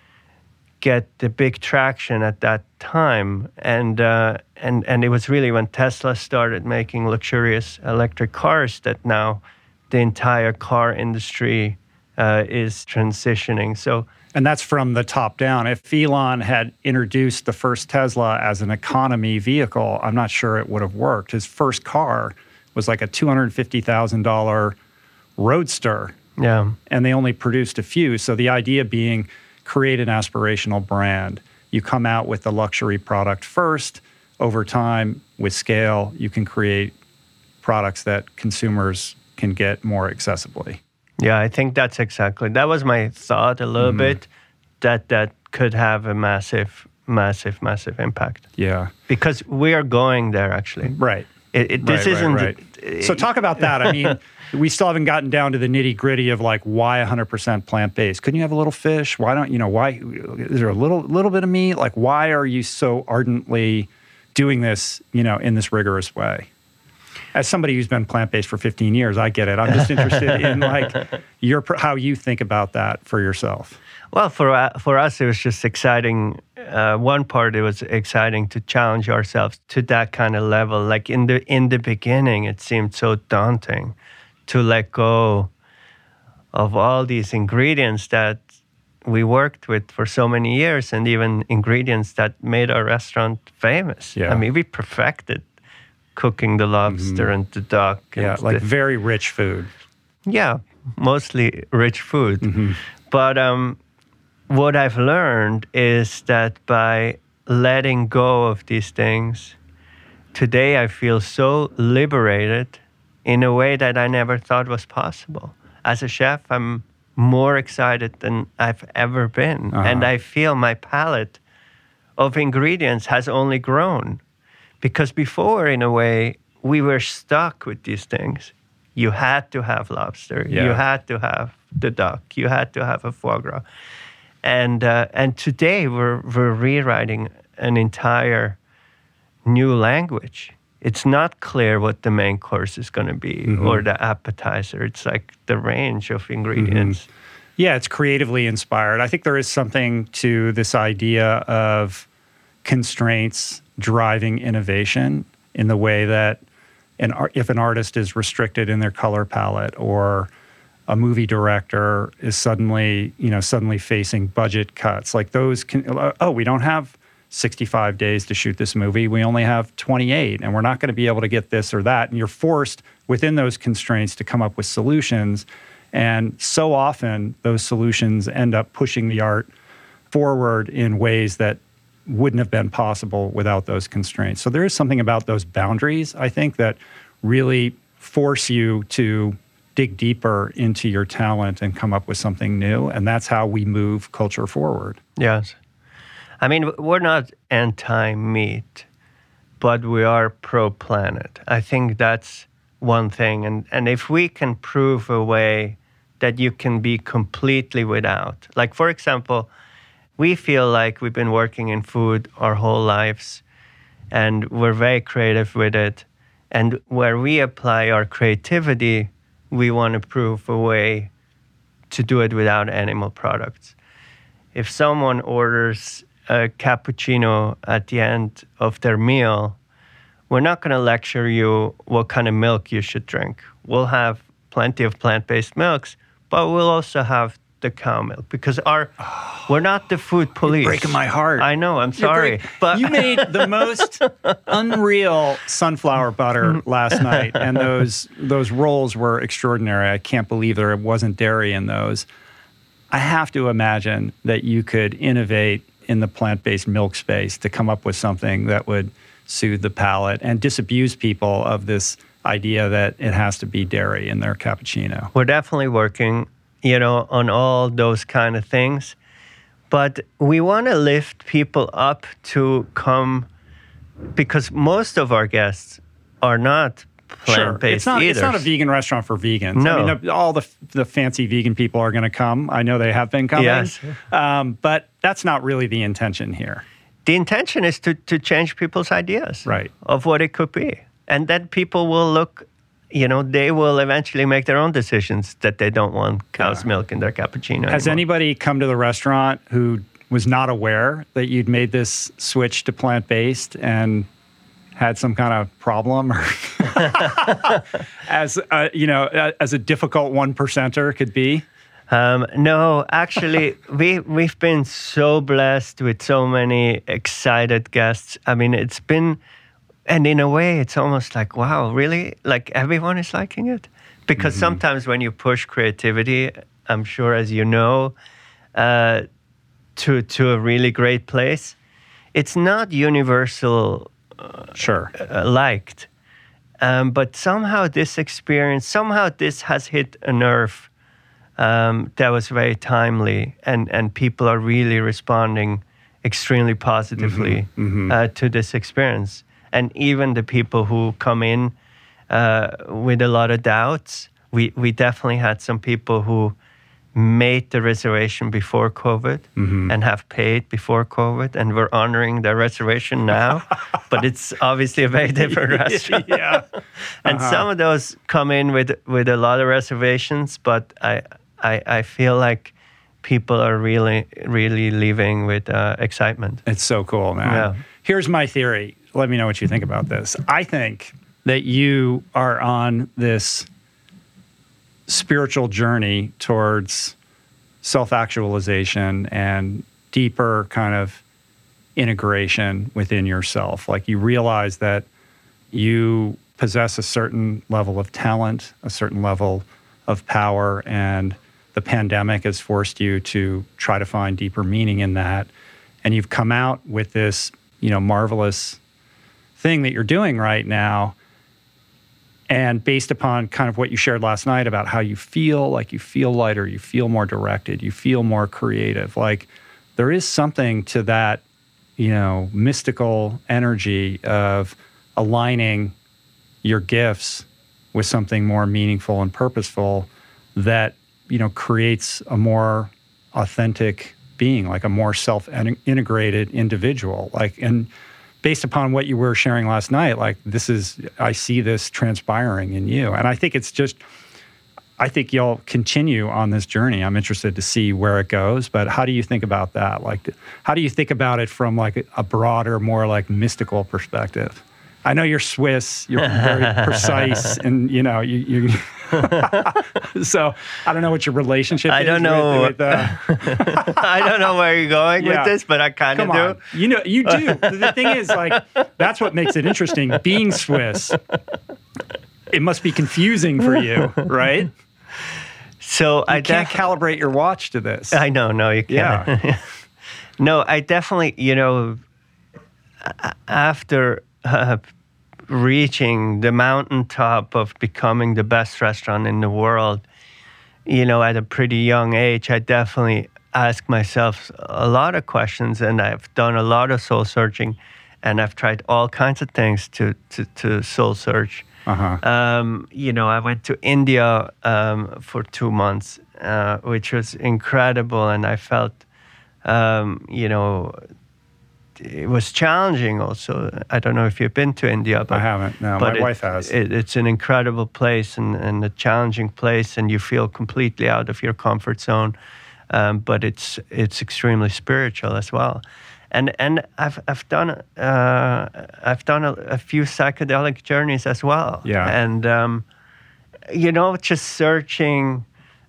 get the big traction at that time. And uh, and and it was really when Tesla started making luxurious electric cars that now the entire car industry uh, is transitioning. So. And that's from the top down. If Elon had introduced the first Tesla as an economy vehicle, I'm not sure it would have worked. His first car was like a two hundred fifty thousand dollars Roadster, Yeah. and they only produced a few. So the idea being, create an aspirational brand. You come out with the luxury product first. Over time, with scale, you can create products that consumers can get more accessibly. Yeah, I think that's exactly, that was my thought a little Mm-hmm. bit, that that could have a massive, massive, massive impact. Yeah. Because we are going there, actually. Right. It, it, this Right, isn't... right, right. So talk about that. I mean, we still haven't gotten down to the nitty gritty of like, why one hundred percent plant-based? Couldn't you have a little fish? Why don't, you know, why, is there a little little bit of meat? Like, why are you so ardently doing this, you know, in this rigorous way? As somebody who's been plant-based for fifteen years, I get it. I'm just interested in like your how you think about that for yourself. Well, for uh, for us, it was just exciting. Uh, one part, it was exciting to challenge ourselves to that kind of level. Like in the in the beginning, it seemed so daunting to let go of all these ingredients that we worked with for so many years, and even ingredients that made our restaurant famous. Yeah. I mean, we perfected cooking the lobster and the duck. and Yeah, like the- very rich food. yeah, mostly rich food. But um, what I've learned is that by letting go of these things, today I feel so liberated in a way that I never thought was possible. As a chef, I'm more excited than I've ever been. Uh-huh. And I feel my palette of ingredients has only grown. Because before, in a way, we were stuck with these things. You had to have lobster. Yeah. You had to have the duck. You had to have a foie gras. And uh, and today we're we're rewriting an entire new language. It's not clear what the main course is going to be Mm-hmm. or the appetizer. It's like the range of ingredients. Yeah, it's creatively inspired. I think there is something to this idea of constraints driving innovation in the way that an art, if an artist is restricted in their color palette, or a movie director is suddenly, you know, suddenly facing budget cuts, like those can, oh, we don't have sixty-five days to shoot this movie. We only have twenty-eight, and we're not going to be able to get this or that. And you're forced within those constraints to come up with solutions. And so often those solutions end up pushing the art forward in ways that wouldn't have been possible without those constraints. So there is something about those boundaries, I think, that really force you to dig deeper into your talent and come up with something new. And that's how we move culture forward. Yes. I mean, we're not anti-meat, but we are pro-planet. I think that's one thing. And, and if we can prove a way that you can be completely without. Like, for example, we feel like we've been working in food our whole lives, and we're very creative with it. And where we apply our creativity, we want to prove a way to do it without animal products. If someone orders a cappuccino at the end of their meal, we're not going to lecture you what kind of milk you should drink. We'll have plenty of plant-based milks, but we'll also have the cow milk, because our oh, we're not the food police. You're breaking my heart. I know, I'm sorry. But you made the most unreal sunflower butter last night, and those those rolls were extraordinary. I can't believe there wasn't dairy in those. I have to imagine that you could innovate in the plant-based milk space to come up with something that would soothe the palate and disabuse people of this idea that it has to be dairy in their cappuccino. We're definitely working, you know, on all those kind of things. But we want to lift people up to come, because most of our guests are not plant-based sure. it's not, either. It's not a vegan restaurant for vegans. No. I mean, all the the fancy vegan people are going to come. I know they have been coming. Yes. Um, but that's not really the intention here. The intention is to, to change people's ideas right. of what it could be. And then people will look, you know, they will eventually make their own decisions that they don't want cow's yeah. milk in their cappuccino Has anymore. anybody come to the restaurant who was not aware that you'd made this switch to plant-based and had some kind of problem, or as a, you know, as a difficult one percenter could be? Um, no, actually, we we've been so blessed with so many excited guests. I mean, it's been, and in a way, it's almost like, wow, really? Like everyone is liking it? Because mm-hmm. sometimes when you push creativity, I'm sure, as you know, uh, to to a really great place, it's not universal. Uh, sure. Uh, liked. Um, but somehow this experience, somehow this has hit a nerve um, that was very timely, and, and people are really responding extremely positively mm-hmm. Mm-hmm. Uh, to this experience. And even the people who come in uh, with a lot of doubts, we, we definitely had some people who made the reservation before COVID mm-hmm. and have paid before COVID, and we're honoring their reservation now. But it's obviously a very different restaurant. yeah. And uh-huh. some of those come in with, with a lot of reservations, but I, I I feel like people are really, really leaving with uh, excitement. It's so cool, man. Yeah. Here's my theory. Let me know what you think about this. I think that you are on this spiritual journey towards self-actualization and deeper kind of integration within yourself. Like, you realize that you possess a certain level of talent, a certain level of power, and the pandemic has forced you to try to find deeper meaning in that. And you've come out with this, you know, marvelous thing that you're doing right now. And based upon kind of what you shared last night about how you feel, like you feel lighter, you feel more directed, you feel more creative. Like, there is something to that, you know, mystical energy of aligning your gifts with something more meaningful and purposeful that, you know, creates a more authentic being, like a more self-integrated individual. Like, and based upon what you were sharing last night, like, this is, I see this transpiring in you. And I think it's just, I think you'll continue on this journey. I'm interested to see where it goes, but how do you think about that? Like, how do you think about it from like a broader, more like mystical perspective? I know you're Swiss, you're very precise, and you know, you, you so I don't know what your relationship I is don't know. with, with uh, I don't know where you're going Yeah. with this, but I kind of Come do. on. You know, you do. The thing is, like, that's what makes it interesting. Being Swiss, it must be confusing for you, right? So You I can't def- calibrate your watch to this. I know, no, you can't. Yeah. No, I definitely, you know, a- after uh, reaching the mountaintop of becoming the best restaurant in the world, you know, at a pretty young age, I definitely asked myself a lot of questions, and I've done a lot of soul searching, and I've tried all kinds of things to to, to soul search. Uh-huh. Um, you know, I went to India um, for two months uh, which was incredible. And I felt, um, you know, it was challenging also. I don't know if you've been to India, but I haven't. No, but my it, wife has. It, it's an incredible place and, and a challenging place, and you feel completely out of your comfort zone. Um, but it's it's extremely spiritual as well. And and I've I've done uh, I've done a, a few psychedelic journeys as well. Yeah. And um, you know, just searching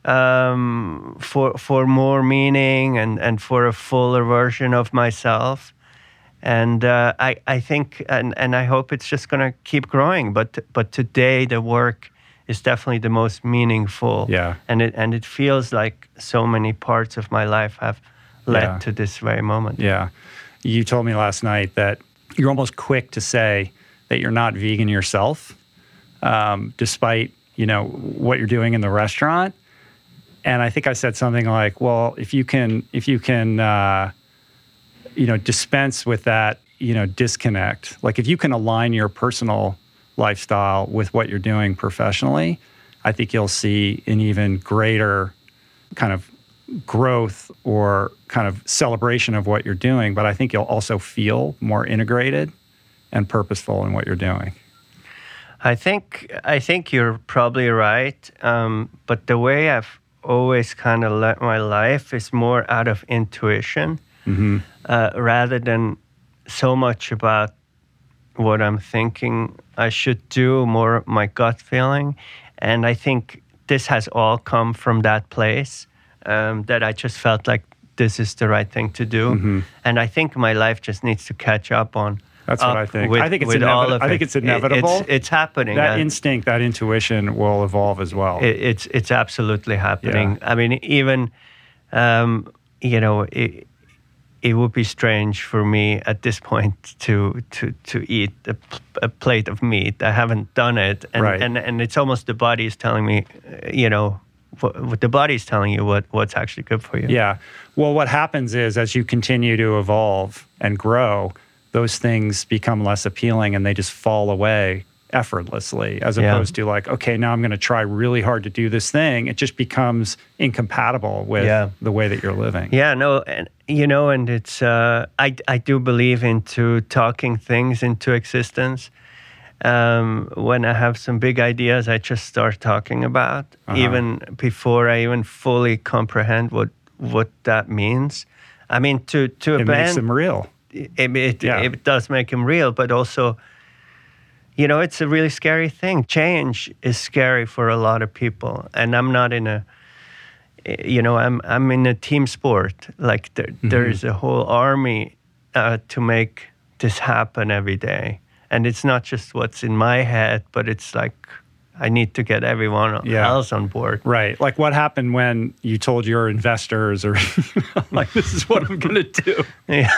um, for for more meaning and, and for a fuller version of myself. And uh, I I think and, and I hope it's just going to keep growing. But but today the work is definitely the most meaningful. Yeah. And it and it feels like so many parts of my life have led Yeah. to this very moment. Yeah. You told me last night that you're almost quick to say that you're not vegan yourself, um, despite, you know, what you're doing in the restaurant. And I think I said something like, well, if you can, if you can, uh, you know, dispense with that, you know, disconnect, like if you can align your personal lifestyle with what you're doing professionally, I think you'll see an even greater kind of growth or kind of celebration of what you're doing, but I think you'll also feel more integrated and purposeful in what you're doing. I think I think you're probably right, um, but the way I've always kind of led my life is more out of intuition, Mm-hmm. uh, rather than so much about what I'm thinking I should do, more my gut feeling. And I think this has all come from that place. Um, that I just felt like this is the right thing to do, Mm-hmm. and I think my life just needs to catch up on. That's what up I think. With, I think it's with inevit- all of I think it. it's inevitable. It, it's, it's happening. That Uh, instinct, that intuition will evolve as well. it, it's it's absolutely happening. I mean, even um, you know, it, it would be strange for me at this point to to to eat a, a plate of meat. I haven't done it, and Right. and, and it's almost the body is telling me, uh, you know. What the body's telling you what, what's actually good for you. Yeah. Well, what happens is as you continue to evolve and grow, those things become less appealing and they just fall away effortlessly, as Yeah. opposed to like, okay, now I'm going to try really hard to do this thing. It just becomes incompatible with Yeah. the way that you're living. Yeah, no, and you know, and it's uh, I I do believe into talking things into existence. Um, when I have some big ideas, I just start talking about, Uh-huh. even before I even fully comprehend what what that means. I mean, to to a It band, makes them real. it, it, Yeah. it does make them real, but also, you know, it's a really scary thing. Change is scary for a lot of people, and I'm not in a, you know, I'm I'm in a team sport. Like there, Mm-hmm. there is a whole army uh, to make this happen every day, and it's not just what's in my head, but it's like I need to get everyone Yeah. else on board. Right. Like what happened when you told your investors or like, this is what I'm going to do.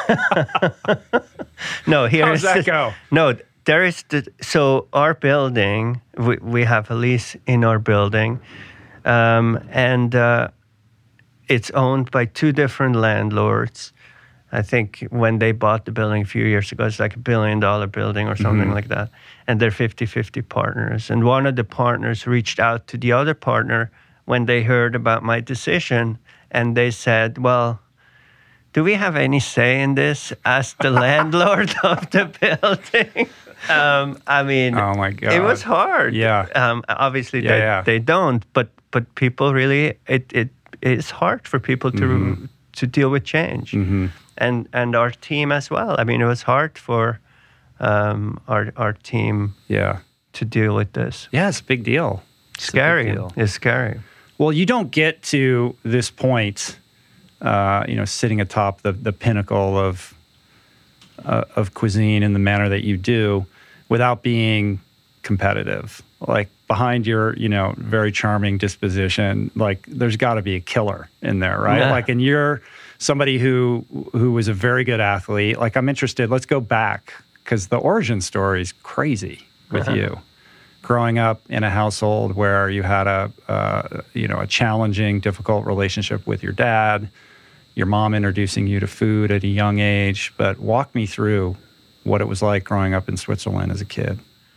No, here How does is that the- go? No, there is the so our building. We we have a lease in our building, um, and uh, it's owned by two different landlords. I think when they bought the building a few years ago, it's like a billion dollar building or something Mhm. like that. And they're fifty-fifty partners. And one of the partners reached out to the other partner when they heard about my decision. And they said, well, do we have any say in this as the landlord of the building? Um, I mean, Oh my God. it was hard. Yeah. Um, obviously, Yeah, they, yeah. they don't, but but people really, it it is hard for people to Mhm. to deal with change, Mhm. and and our team as well. I mean, it was hard for um, our our team Yeah. to deal with this. Yeah, it's a big deal. It's a big Scary. deal. It's scary. Well, you don't get to this point, uh, you know, sitting atop the, the pinnacle of uh, of cuisine in the manner that you do, without being competitive. Like behind your, you know, very charming disposition, like there's got to be a killer in there, right? Yeah. Like, and you're somebody who who was a very good athlete. Like, I'm interested. Let's go back because the origin story is crazy with Uh-huh. you. Growing up in a household where you had a, uh, you know, a challenging, difficult relationship with your dad, your mom introducing you to food at a young age. But walk me through what it was like growing up in Switzerland as a kid.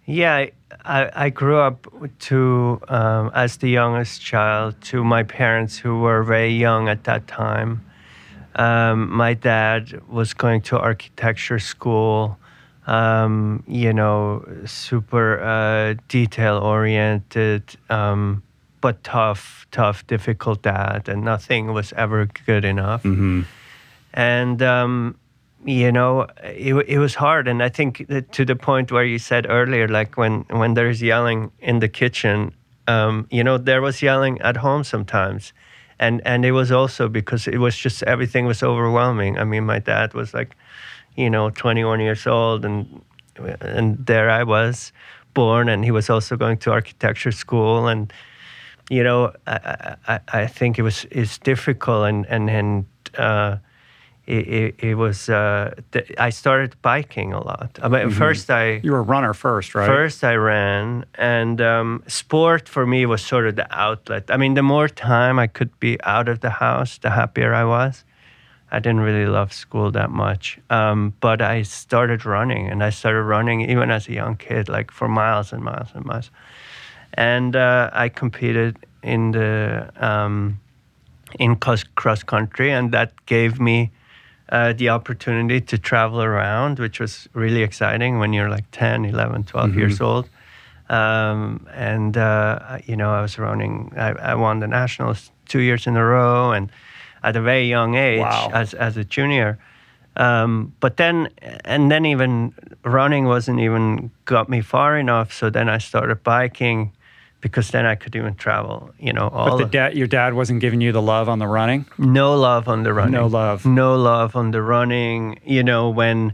Yeah, I, I grew up to, um, as the youngest child, to my parents who were very young at that time. Um, my dad was going to architecture school, um, you know, super uh, detail-oriented, um, but tough, tough, difficult dad, and nothing was ever good enough. Mm-hmm. And... Um, You know, it, it was hard. And I think that to the point where you said earlier, like when, when there's yelling in the kitchen, um, you know, there was yelling at home sometimes. And and it was also because it was just, everything was overwhelming. I mean, my dad was like, you know, twenty-one years old, and and there I was born, and he was also going to architecture school. And, you know, I, I, I think it was, it's difficult. And, and, and, uh, It, it, it was, uh, th- I started biking a lot. I mean, mm-hmm. First I... You were a runner first, right? First I ran, and um, sport for me was sort of the outlet. I mean, the more time I could be out of the house, the happier I was. I didn't really love school that much. Um, but I started running, and I started running even as a young kid, like for miles and miles and miles. And uh, I competed in the um, in cross, cross country, and that gave me Uh, the opportunity to travel around, which was really exciting when you're like ten, eleven, twelve mm-hmm. years old. Um, and, uh, you know, I was running, I, I won the nationals two years in a row, and at a very young age, wow. as as a junior. Um, but then, and then even running wasn't even got me far enough. So then I started biking, because then I could even travel, you know. All but the dad, your dad wasn't giving you the love on the running? No love on the running. No love. No love on the running. You know, when,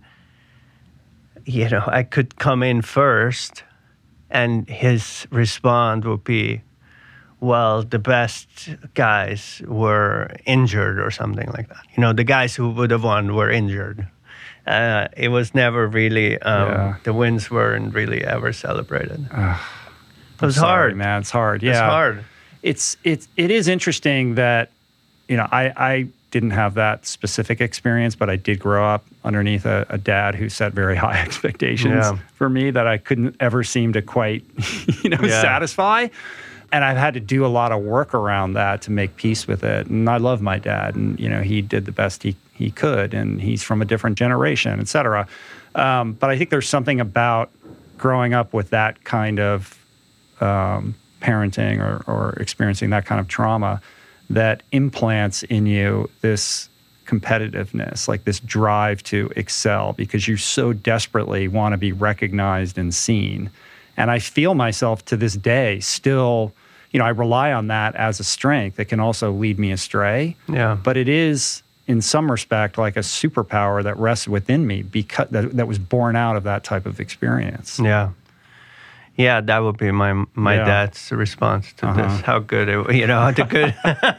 you know, I could come in first, and his response would be, well, the best guys were injured or something like that. You know, the guys who would have won were injured. Uh, it was never really, um, yeah. the wins weren't really ever celebrated. Uh. It was sorry, hard, man. It's hard. Yeah, it's hard. It's it's it is interesting that, you know, I I didn't have that specific experience, but I did grow up underneath a, a dad who set very high expectations yeah. for me that I couldn't ever seem to quite, you know, yeah. satisfy. And I've had to do a lot of work around that to make peace with it. And I love my dad, and you know, he did the best he he could, and he's from a different generation, et cetera. Um, but I think there's something about growing up with that kind of Um, parenting or, or experiencing that kind of trauma that implants in you this competitiveness, like this drive to excel, because you so desperately want to be recognized and seen. And I feel myself to this day still, you know, I rely on that as a strength. It can also lead me astray. Yeah. But it is, in some respect, like a superpower that rests within me because that, that was born out of that type of experience. Yeah. Yeah, that would be my my yeah. dad's response to uh-huh. this. How good it, you know, the good.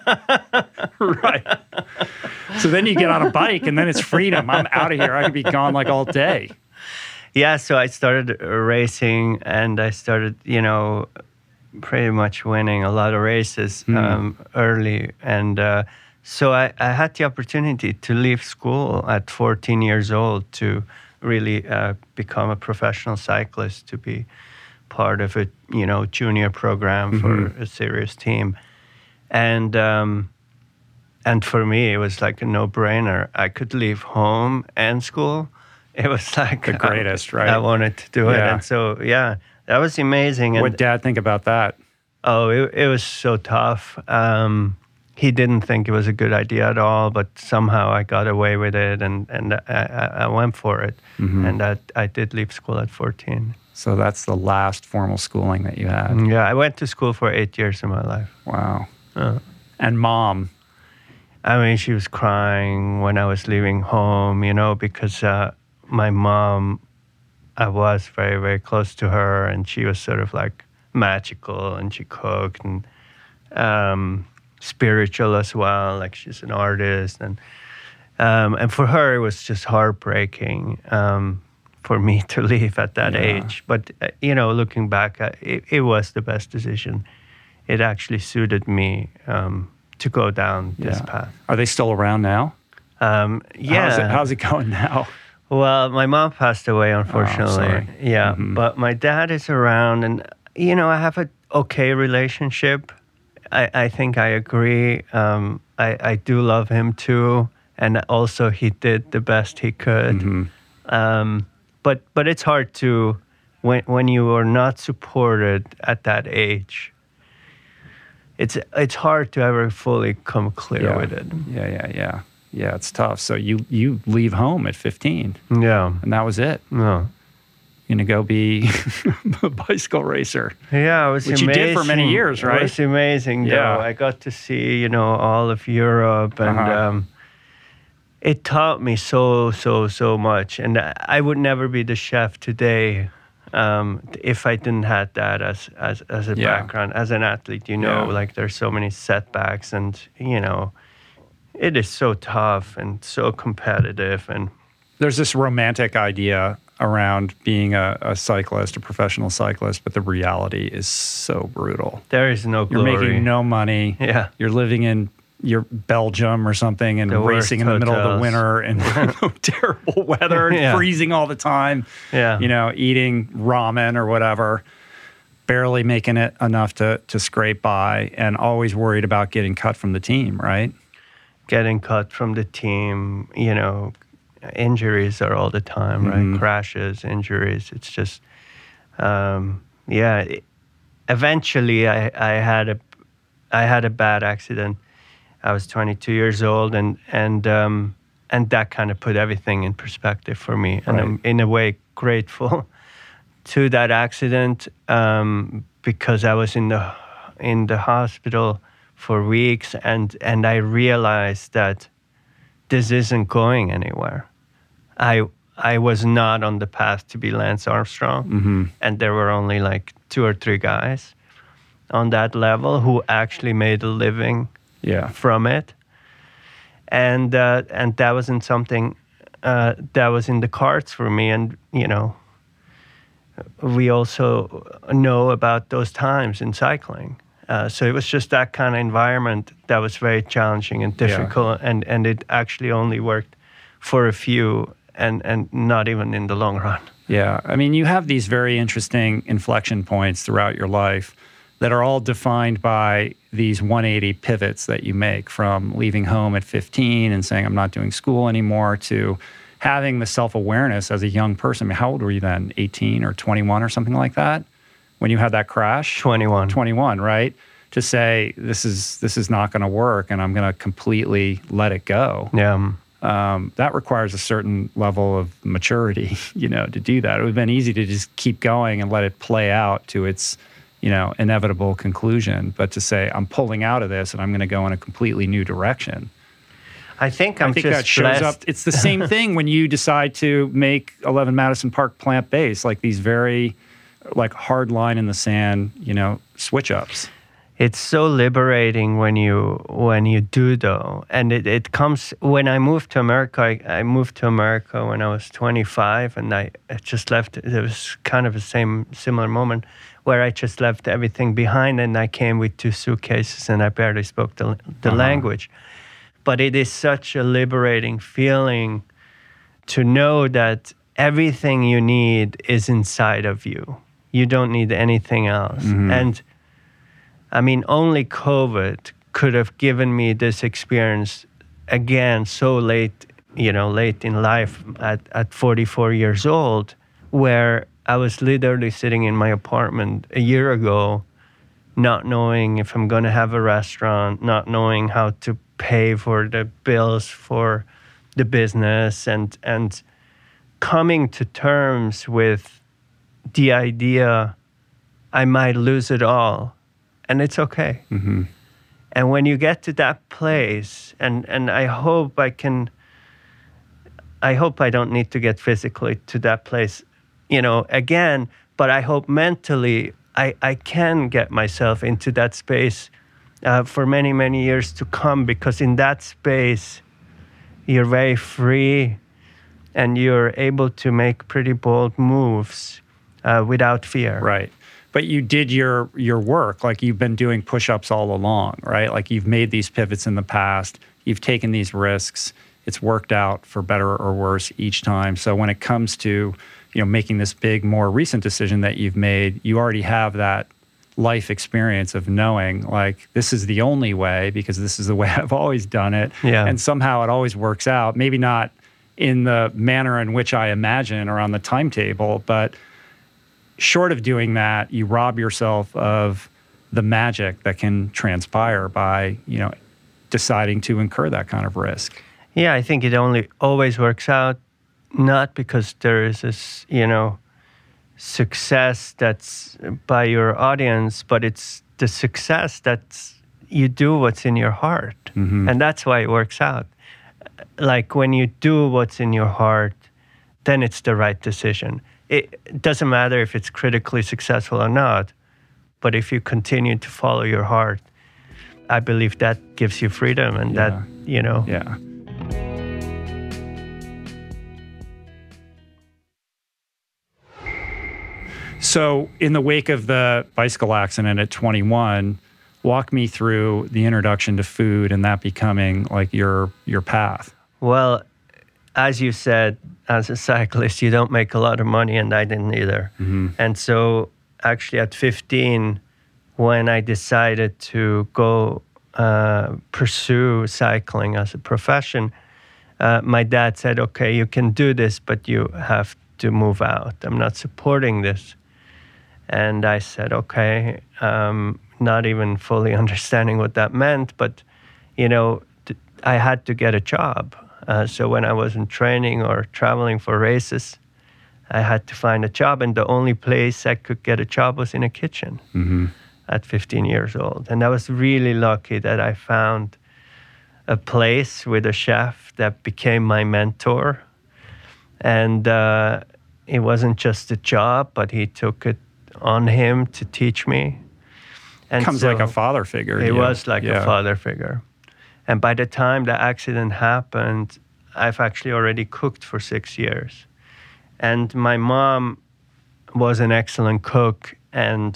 Right. So then you get on a bike, and then it's freedom. I'm out of here. I could be gone like all day. Yeah, so I started racing, and I started, you know, pretty much winning a lot of races mm. um, early, and uh, so I, I had the opportunity to leave school at fourteen years old to really uh, become a professional cyclist, to be part of a, you know, junior program for mm-hmm. a serious team. And um, and for me, it was like a no-brainer. I could leave home and school. It was like... The greatest, I, right? I wanted to do yeah. it. And so, yeah, that was amazing. What did Dad think about that? Oh, it, it was so tough. Um, he didn't think it was a good idea at all, but somehow I got away with it, and, and I, I went for it. Mm-hmm. And that I did leave school at fourteen. So that's the last formal schooling that you had. Yeah, I went to school for eight years of my life. Wow. Uh, and Mom? I mean, she was crying when I was leaving home, you know, because uh, my mom, I was very, very close to her, and she was sort of like magical, and she cooked, and um, spiritual as well, like she's an artist. And um, and for her, it was just heartbreaking. Um, for me to leave at that yeah. age. But, uh, you know, looking back, uh, it, it was the best decision. It actually suited me um, to go down this yeah. path. Are they still around now? Um, yeah. How's it, how's it going now? Well, my mom passed away, unfortunately. sorry. Yeah, Mhm. but my dad is around, and you know, I have a okay relationship. I, I think I agree. Um, I, I do love him too, and also he did the best he could. Mhm. Um, but but it's hard to when when you are not supported at that age. It's it's hard to ever fully come clear Yeah. with it. Yeah, yeah, yeah. Yeah, it's tough. So you you leave home at fifteen, Yeah. and that was it. No. You're going to go be a bicycle racer. Yeah, it was Which you amazing. did for many years, right? It was amazing, Yeah. though. I got to see, you know, all of Europe, and Uh-huh. um, it taught me so, so, so much. And I I would never be the chef today um, if I didn't have that as as, as a Yeah. background. As an athlete, you know, Yeah. like there's so many setbacks, and, you know, it is so tough and so competitive. And There's this romantic idea around being a, a cyclist, a professional cyclist, but the reality is so brutal. there is no You're glory. making no money. Yeah. You're living in your Belgium or something and The worst racing in the middle of the hotels. winter and terrible weather and Yeah. freezing all the time. Yeah. You know, eating ramen or whatever, barely making it enough to to scrape by, and always worried about getting cut from the team, right? Getting cut from the team, you know, injuries are all the time, right? Mhm. Crashes, injuries. It's just, um, yeah. It- eventually, I, I had a, I had a bad accident. I was twenty-two years old, and and um, and that kind of put everything in perspective for me. And Right. I'm in a way grateful to that accident um, because I was in the in the hospital for weeks, and and I realized that this isn't going anywhere. I I was not on the path to be Lance Armstrong, Mm-hmm. and there were only like two or three guys on that level who actually made a living Yeah. from it, and uh, and that wasn't something uh, that was in the cards for me. And you know, we also know about those times in cycling. Uh, so it was just that kind of environment that was very challenging and difficult, and, and it actually only worked for a few, and, and not even in the long run. Yeah. I mean, you have these very interesting inflection points throughout your life that are all defined by these one eighty pivots that you make, from leaving home at fifteen and saying, I'm not doing school anymore, to having the self-awareness as a young person. I mean, how old were you then? eighteen or twenty-one or something like that when you had that crash? twenty-one. twenty-one, right? To say, this is this is not going to work, and I'm going to completely let it go. Yeah. um, Um, that requires a certain level of maturity, you know, to do that. It would have been easy to just keep going and let it play out to its, you know, inevitable conclusion. But to say, I'm pulling out of this and I'm going to go in a completely new direction. I think I'm I think just that shows blessed. up. It's the same thing when you decide to make eleven Madison Park plant-based, like these very, like, hard line in the sand, you know, switch-ups. It's so liberating when you when you do, though, and it, it comes when I moved to America. I, I moved to America when I was twenty-five, and I, I just left. It was kind of the same similar moment where I just left everything behind, and I came with two suitcases, and I barely spoke the the Uh-huh. language. But it is such a liberating feeling to know that everything you need is inside of you. You don't need anything else, Mhm. and I mean, only COVID could have given me this experience again so late, you know, late in life at, at forty-four years old, where I was literally sitting in my apartment a year ago, not knowing if I'm going to have a restaurant, not knowing how to pay for the bills for the business, and and coming to terms with the idea I might lose it all. And it's okay. Mm-hmm. And when you get to that place, and, and I hope I can, I hope I don't need to get physically to that place, you know, again, but I hope mentally I, I can get myself into that space uh, for many, many years to come, because in that space, you're very free and you're able to make pretty bold moves uh, without fear. Right. But you did your your work, like you've been doing push-ups all along, right? Like you've made these pivots in the past, you've taken these risks, it's worked out for better or worse each time. So when it comes to, you know, making this big, more recent decision that you've made, you already have that life experience of knowing, like, this is the only way because this is the way I've always done it. Yeah. And somehow it always works out. Maybe not in the manner in which I imagine or on the timetable, but short of doing that, you rob yourself of the magic that can transpire by, you know, deciding to incur that kind of risk. Yeah, I think it only always works out, not because there is this, you know, success that's by your audience, but it's the success that's you do what's in your heart. Mm-hmm. And that's why it works out. Like when you do what's in your heart, then it's the right decision. It doesn't matter if it's critically successful or not, but if you continue to follow your heart, I believe that gives you freedom and yeah. that, you know. Yeah. So in the wake of the bicycle accident at twenty-one, walk me through the introduction to food and that becoming like your your path. Well, as you said, as a cyclist, you don't make a lot of money, and I didn't either. Mm-hmm. And so actually at fifteen, when I decided to go uh, pursue cycling as a profession, uh, my dad said, okay, you can do this, but you have to move out. I'm not supporting this. And I said, okay, um, not even fully understanding what that meant, but, you know, th- I had to get a job. Uh, so when I wasn't training or traveling for races, I had to find a job. And the only place I could get a job was in a kitchen mm-hmm. at fifteen years old. And I was really lucky that I found a place with a chef that became my mentor. And uh, it wasn't just a job, but he took it on him to teach me. And Comes so like a father figure. It yeah. was like yeah. a father figure. And by the time the accident happened, I've actually already cooked for six years. And my mom was an excellent cook, and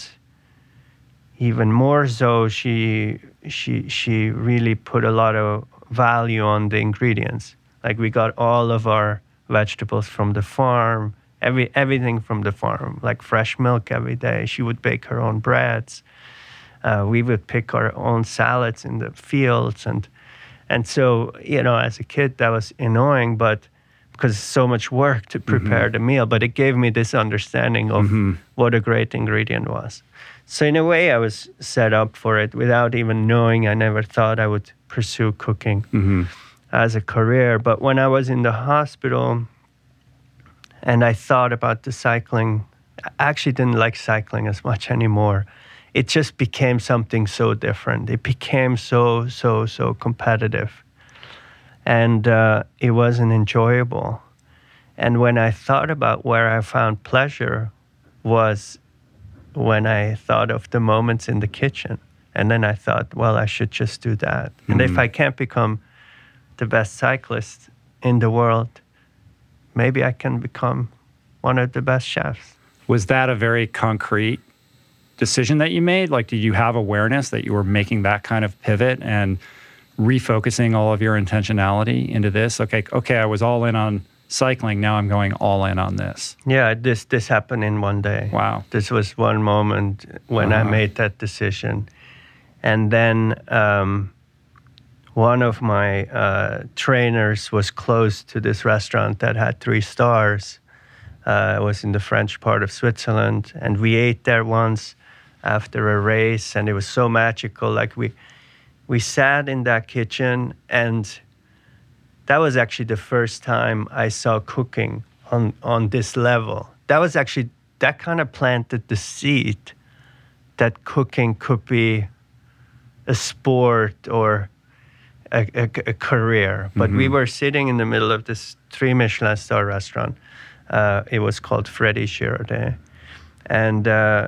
even more so, she she she really put a lot of value on the ingredients. Like we got all of our vegetables from the farm, every everything from the farm, like fresh milk every day. She would bake her own breads. Uh, we would pick our own salads in the fields, and and so, you know, as a kid that was annoying, but because it's so much work to prepare mm-hmm. the meal, but it gave me this understanding of mm-hmm. what a great ingredient was. So in a way, I was set up for it without even knowing. I never thought I would pursue cooking mm-hmm. as a career. But when I was in the hospital and I thought about the cycling, I actually didn't like cycling as much anymore. It just became something so different. It became so, so, so competitive. And uh, it wasn't enjoyable. And when I thought about where I found pleasure was when I thought of the moments in the kitchen. And then I thought, well, I should just do that. Mm-hmm. And if I can't become the best cyclist in the world, maybe I can become one of the best chefs. Was that a very concrete decision that you made? Like, did you have awareness that you were making that kind of pivot and refocusing all of your intentionality into this? Okay, okay, I was all in on cycling. Now I'm going all in on this. Yeah, this this happened in one day. Wow. This was one moment when uh-huh. I made that decision. And then um, one of my uh, trainers was close to this restaurant that had three stars. Uh, it was in the French part of Switzerland. And we ate there once after a race, and it was so magical. Like we... We sat in that kitchen, and that was actually the first time I saw cooking on, on this level. That was actually, that kind of planted the seed that cooking could be a sport or a, a, a career. But mm-hmm. we were sitting in the middle of this three Michelin star restaurant. Uh, it was called Freddy Giraudet. And uh,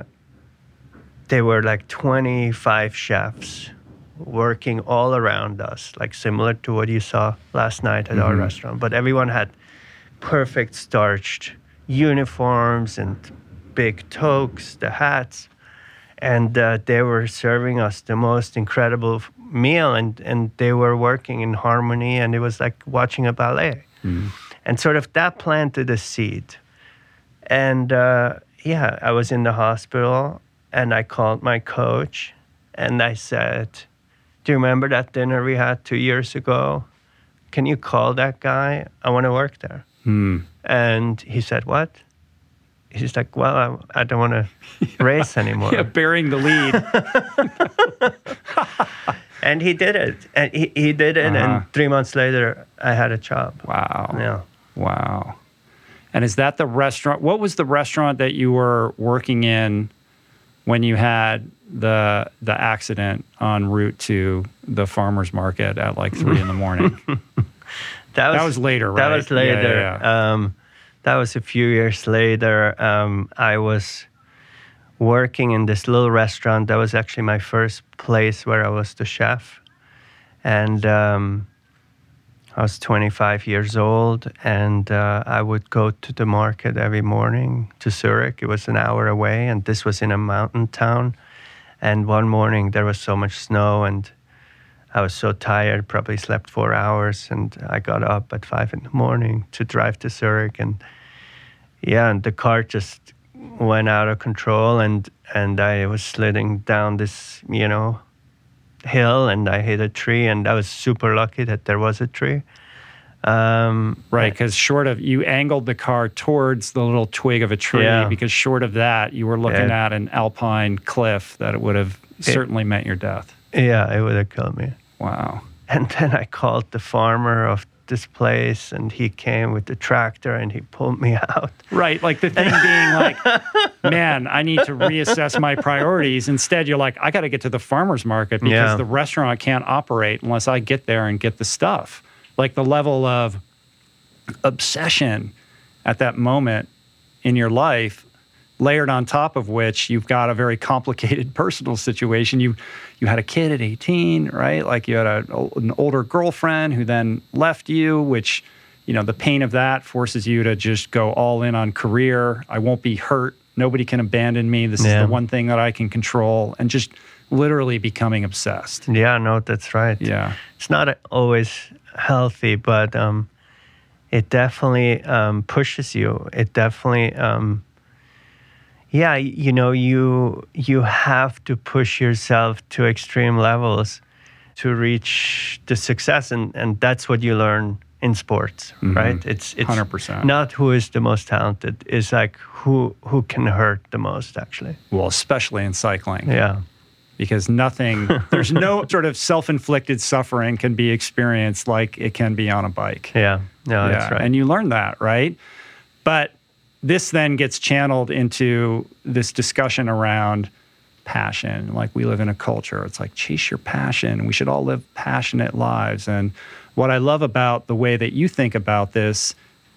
there were like twenty-five chefs working all around us, like similar to what you saw last night at mm-hmm. our restaurant. But everyone had perfect starched uniforms and big toques, the hats. And uh, they were serving us the most incredible meal, and, and they were working in harmony, and it was like watching a ballet. Mm. And sort of that planted a seed. And uh, yeah, I was in the hospital, and I called my coach, and I said, do you remember that dinner we had two years ago? Can you call that guy? I want to work there. Mm. And he said, what? He's like, well, I, I don't want to race anymore. Yeah, bearing the lead. And he did it. And he, he did it. Uh-huh. And three months later, I had a job. Wow. Yeah. Wow. And is that the restaurant? What was the restaurant that you were working in when you had the the accident en route to the farmer's market at like three in the morning? that, was, that was later, right? That was later. Yeah, yeah, yeah. Um, That was a few years later. Um, I was working in this little restaurant. That was actually my first place where I was the chef. And um, I was twenty-five years old, and uh, I would go to the market every morning to Zurich. It was an hour away, and this was in a mountain town. And one morning there was so much snow, and I was so tired, probably slept four hours, and I got up at five in the morning to drive to Zurich, and yeah, and the car just went out of control, and, and I was sliding down this, you know, hill, and I hit a tree, and I was super lucky that there was a tree. Um, right, because short of, you angled the car towards the little twig of a tree, yeah. because short of that, you were looking yeah. at an alpine cliff that it would have it, certainly meant your death. Yeah, it would have killed me. Wow. And then I called the farmer of this place, and he came with the tractor, and he pulled me out. Right, like the thing being like, man, I need to reassess my priorities. Instead, you're like, I got to get to the farmer's market because yeah. the restaurant can't operate unless I get there and get the stuff. Like the level of obsession at that moment in your life, layered on top of which you've got a very complicated personal situation. You you had a kid at eighteen, right? Like you had a, an older girlfriend who then left you, which, you know, the pain of that forces you to just go all in on career. I won't be hurt. Nobody can abandon me. This yeah. is the one thing that I can control. And just literally becoming obsessed. Yeah, no, that's right. Yeah. It's not always healthy, but um, it definitely um, pushes you. It definitely... Um, Yeah, you know, you you have to push yourself to extreme levels to reach the success, and, and that's what you learn in sports, mm-hmm. right? It's it's one hundred percent. Not who is the most talented, it's like who who can hurt the most, actually. Well, especially in cycling. Yeah. Because nothing, there's no sort of self-inflicted suffering can be experienced like it can be on a bike. Yeah, no, yeah. that's right. And you learn that, right? But this then gets channeled into this discussion around passion. Like we live in a culture, it's like chase your passion. We should all live passionate lives. And what I love about the way that you think about this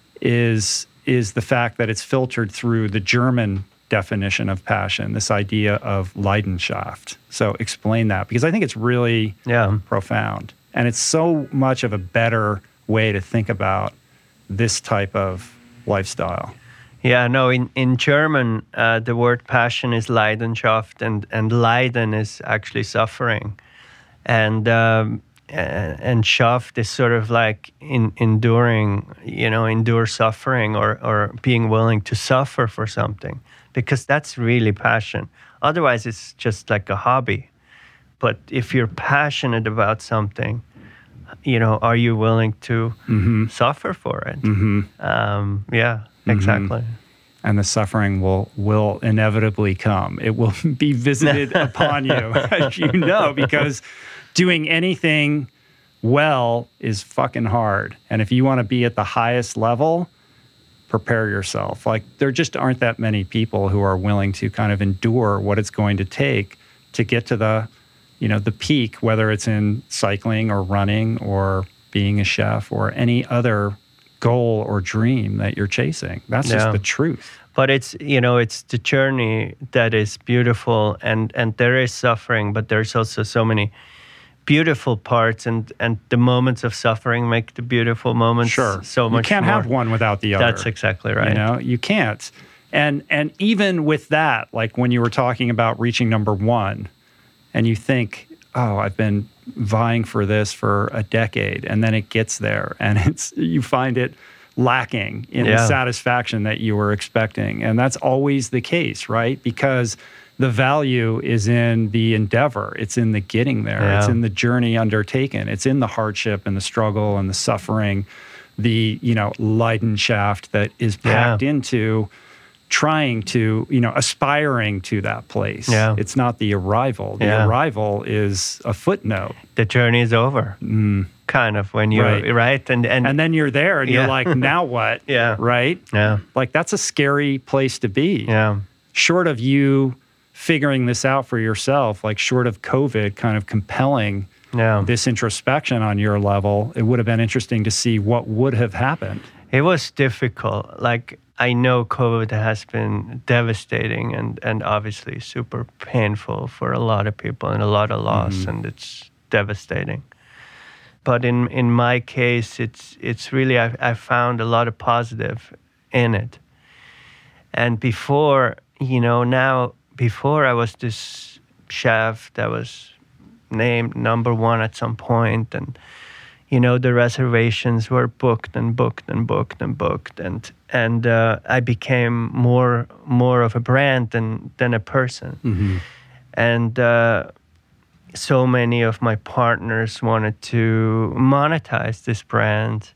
is, is the fact that it's filtered through the German definition of passion, this idea of Leidenschaft. So explain that, because I think it's really yeah. profound. And it's so much of a better way to think about this type of lifestyle. Yeah, no, in, in German, uh, the word passion is Leidenschaft, and, and Leiden is actually suffering. And um, and Schaft is sort of like in, enduring, you know, endure suffering or, or being willing to suffer for something, because that's really passion. Otherwise, it's just like a hobby. But if you're passionate about something, you know, are you willing to mm-hmm. suffer for it? Mm-hmm. Um, yeah. Exactly. Mm-hmm. And the suffering will will inevitably come. It will be visited upon you, as you know, because doing anything well is fucking hard. And if you want to be at the highest level, prepare yourself. Like there just aren't that many people who are willing to kind of endure what it's going to take to get to the, you know, the peak, whether it's in cycling or running or being a chef or any other goal or dream that you're chasing. That's yeah. just the truth. But it's, you know, it's the journey that is beautiful, and, and there is suffering, but there's also so many beautiful parts, and, and the moments of suffering make the beautiful moments sure. so much You can't more. have one without the other. That's exactly right. You know, you can't. And and even with that, like when you were talking about reaching number one, and you think oh, I've been vying for this for a decade, and then it gets there, and it's you find it lacking in Yeah. the satisfaction that you were expecting. And that's always the case, right? Because the value is in the endeavor. It's in the getting there. Yeah. It's in the journey undertaken. It's in the hardship and the struggle and the suffering, the, you know, Leidenschaft that is packed Yeah. into trying to, you know, aspiring to that place. Yeah. It's not the arrival. The Yeah. arrival is a footnote. The journey is over, Mm. kind of, when you're, Right. right? And, and, And then you're there and Yeah. you're like, now what? Yeah. Right? yeah, Like, that's a scary place to be. yeah, Short of you figuring this out for yourself, like short of COVID kind of compelling yeah. this introspection on your level, it would have been interesting to see what would have happened. It was difficult. Like, I know COVID has been devastating and, and obviously super painful for a lot of people and a lot of loss, Mhm. and it's devastating. But in, in my case, it's it's really, I, I found a lot of positive in it. And before, you know, now, before I was this chef that was named number one at some point, and you know, the reservations were booked and booked and booked and booked, and and uh, I became more more of a brand than than a person. Mm-hmm. And uh, so many of my partners wanted to monetize this brand.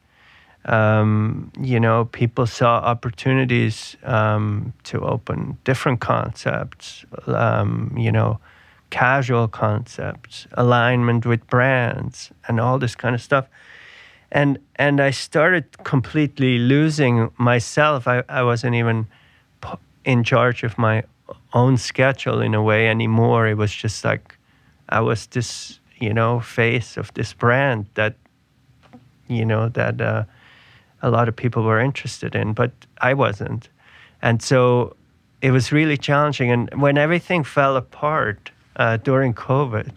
Um, you know, people saw opportunities um, to open different concepts. Um, you know. Casual concepts, alignment with brands, and all this kind of stuff. And and I started completely losing myself. I, I wasn't even in charge of my own schedule in a way anymore. It was just like I was this, you know, face of this brand that, you know, that uh, a lot of people were interested in, but I wasn't. And so it was really challenging. And when everything fell apart, Uh, during COVID,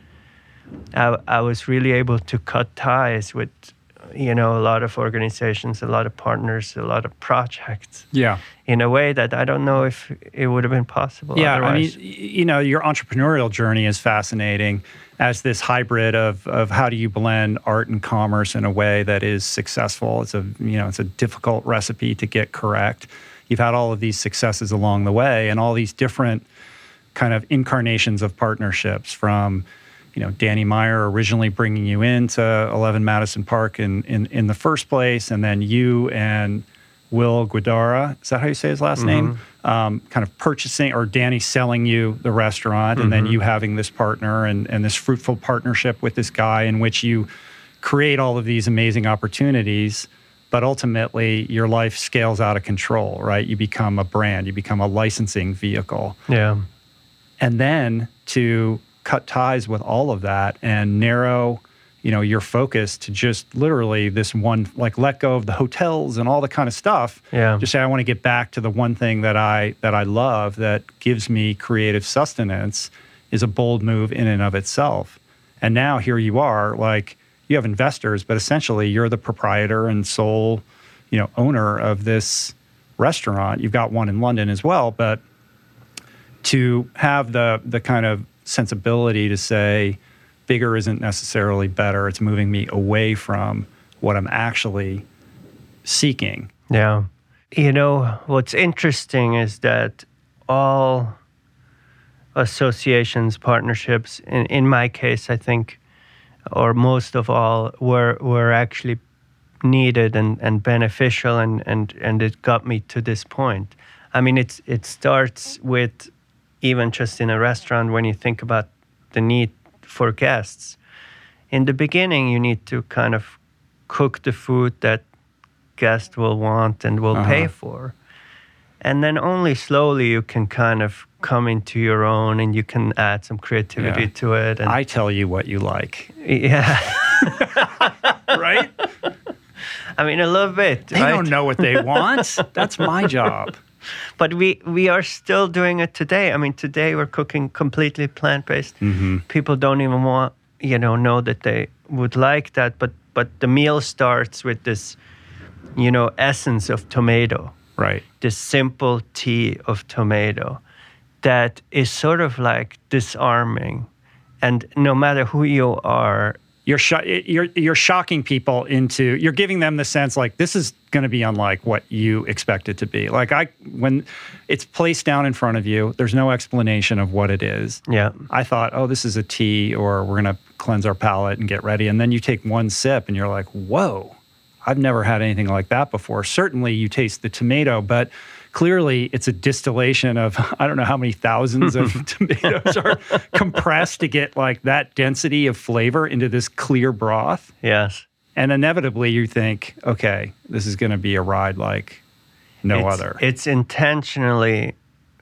I, I was really able to cut ties with, you know, a lot of organizations, a lot of partners, a lot of projects. Yeah. In a way that I don't know if it would have been possible. Yeah, otherwise. I mean, y- you know, your entrepreneurial journey is fascinating as this hybrid of of how do you blend art and commerce in a way that is successful. It's a, you know, it's a difficult recipe to get correct. You've had all of these successes along the way and all these different kind of incarnations of partnerships, from, you know, Danny Meyer originally bringing you into eleven Madison Park in, in, in the first place, and then you and Will Guidara, is that how you say his last Mm-hmm. name? Um, kind of purchasing, or Danny selling you the restaurant, and Mm-hmm. then you having this partner and, and this fruitful partnership with this guy in which you create all of these amazing opportunities. But ultimately, your life scales out of control, right? You become a brand, you become a licensing vehicle. Yeah. And then to cut ties with all of that and narrow, you know, your focus to just literally this one, like let go of the hotels and all the kind of stuff. Yeah. Just say, I want to get back to the one thing that I that I love that gives me creative sustenance, is a bold move in and of itself. And now here you are, like, you have investors, but essentially you're the proprietor and sole, you know, owner of this restaurant. You've got one in London as well, but to have the the kind of sensibility to say bigger isn't necessarily better. It's moving me away from what I'm actually seeking. Yeah. You know, what's interesting is that all associations, partnerships, in, in my case, I think, or most of all, were were actually needed and, and beneficial, and, and, and it got me to this point. I mean, it's it starts with, even just in a restaurant, when you think about the need for guests. In the beginning, you need to kind of cook the food that guests will want and will Uh-huh. pay for. And then only slowly you can kind of come into your own, and you can add some creativity Yeah. to it. And I tell you what you like. yeah. Right? I mean, a little bit, They right? don't know what they want. That's my job. But we, we are still doing it today. I mean, today we're cooking completely plant-based. Mm-hmm. People don't even want, you know, know that they would like that. But but the meal starts with this, you know, essence of tomato. Right. This simple tea of tomato that is sort of like disarming And no matter who you are, You're, sh- you're you're shocking people into, you're giving them the sense like this is going to be unlike what you expect it to be. Like I, when it's placed down in front of you, there's no explanation of what it is. yeah, I thought, oh, this is a tea, or we're going to cleanse our palate and get ready. And then you take one sip and you're like, whoa, I've never had anything like that before. Certainly you taste the tomato, but clearly it's a distillation of, I don't know how many thousands of tomatoes are compressed to get like that density of flavor into this clear broth. yes. And inevitably you think, okay, this is going to be a ride like no it's, other. It's intentionally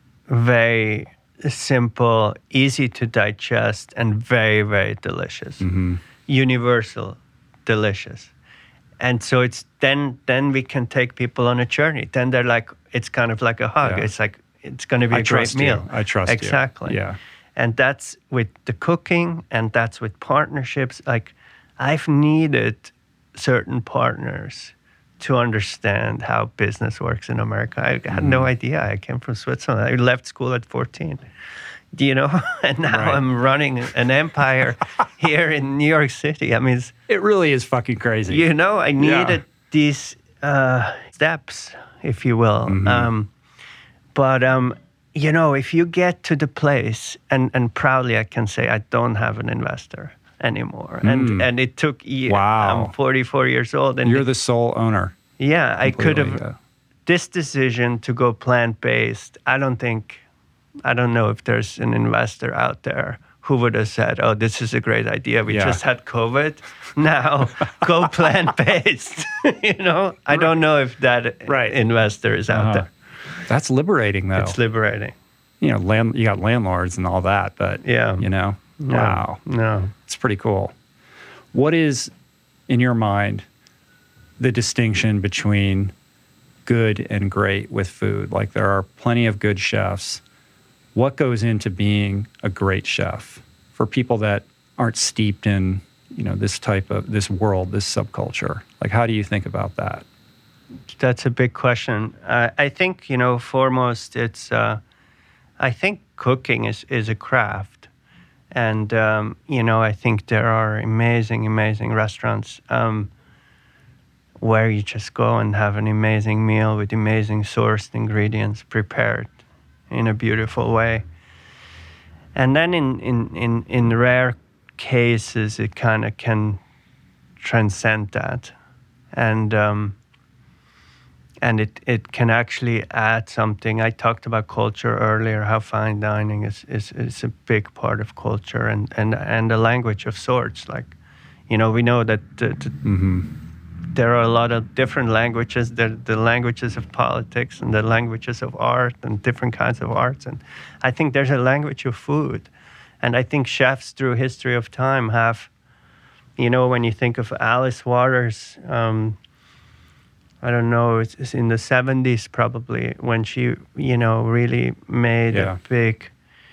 very simple, easy to digest, and very, very delicious. Mm-hmm. Universal, delicious. And so it's then then we can take people on a journey. Then they're like, it's kind of like a hug. Yeah. It's like, it's going to be I a great trust you. meal. I trust you. Exactly. Yeah. And that's with the cooking, and that's with partnerships. Like, I've needed certain partners to understand how business works in America. I had no idea. I came from Switzerland. I left school at fourteen. Do you know? And now Right. I'm running an empire here in New York City. I mean, it's, It really is fucking crazy. you know, I needed Yeah. these uh, steps, if you will. Mm-hmm. Um, but, um, you know, if you get to the place, and, and proudly I can say I don't have an investor anymore. And and it took years. Wow. I'm forty-four years old. And You're it- the sole owner. yeah, I could have. Completely, yeah. This decision to go plant-based, I don't think, I don't know if there's an investor out there who would have said, oh, this is a great idea. We Yeah. just had COVID. Now go plant-based. You know, I don't know if that Right. investor is out Uh-huh. there. That's liberating, though. It's liberating. you know, land, you got landlords and all that, but Yeah. you know, No, wow, No. it's pretty cool. What is, in your mind, the distinction between good and great with food? Like, there are plenty of good chefs. What goes into being a great chef for people that aren't steeped in, you know, this type of, this world, this subculture? Like, how do you think about that? That's a big question. Uh, I think, you know, foremost, it's, uh, I think cooking is, is a craft. And, um, you know, I think there are amazing, amazing restaurants um, where you just go and have an amazing meal with amazing sourced ingredients prepared in a beautiful way. And then in, in, in, in rare cases, it kind of can transcend that. And, um, and it, it can actually add something. I talked about culture earlier, how fine dining is, is, is a big part of culture and, and, and a language of sorts. Like, you know, we know that the, the, Mm-hmm. there are a lot of different languages. There the languages of politics and the languages of art and different kinds of arts. And I think there's a language of food. And I think chefs through history of time have, you know, when you think of Alice Waters, um, I don't know, it's, it's in the seventies probably, when she, you know, really made Yeah. a big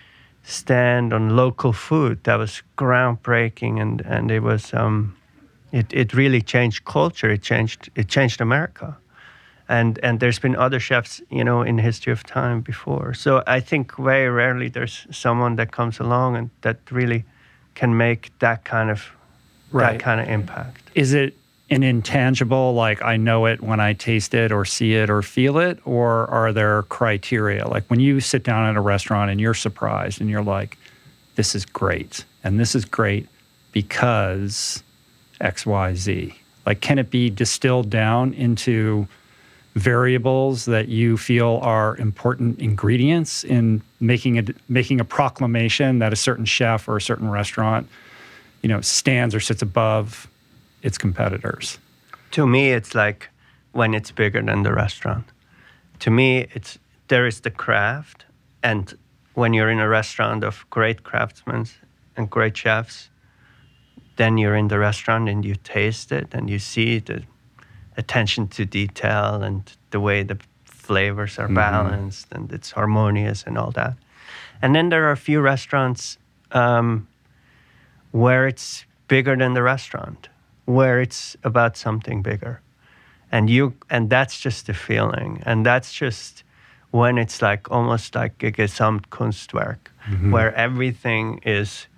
stand on local food that was groundbreaking, and, and it was, um, it, it really changed culture. It changed, it changed America. And, and there's been other chefs, you know, in the history of time before. So I think very rarely there's someone that comes along and that really can make that kind of, Right. that kind of impact. Is it an intangible, like I know it when I taste it or see it or feel it, or are there criteria? Like when you sit down at a restaurant and you're surprised and you're like, this is great, and this is great because X, Y, Z. Like, can it be distilled down into variables that you feel are important ingredients in making a, making a proclamation that a certain chef or a certain restaurant, you know, stands or sits above its competitors? To me, it's like when it's bigger than the restaurant. To me, it's there is the craft, and when you're in a restaurant of great craftsmen and great chefs, then you're in the restaurant and you taste it and you see the attention to detail and the way the flavors are balanced and it's harmonious and all that. And then there are a few restaurants um, where it's bigger than the restaurant, where it's about something bigger. And you and that's just a feeling. And that's just when it's like almost like a Gesamtkunstwerk, Mm-hmm. where everything is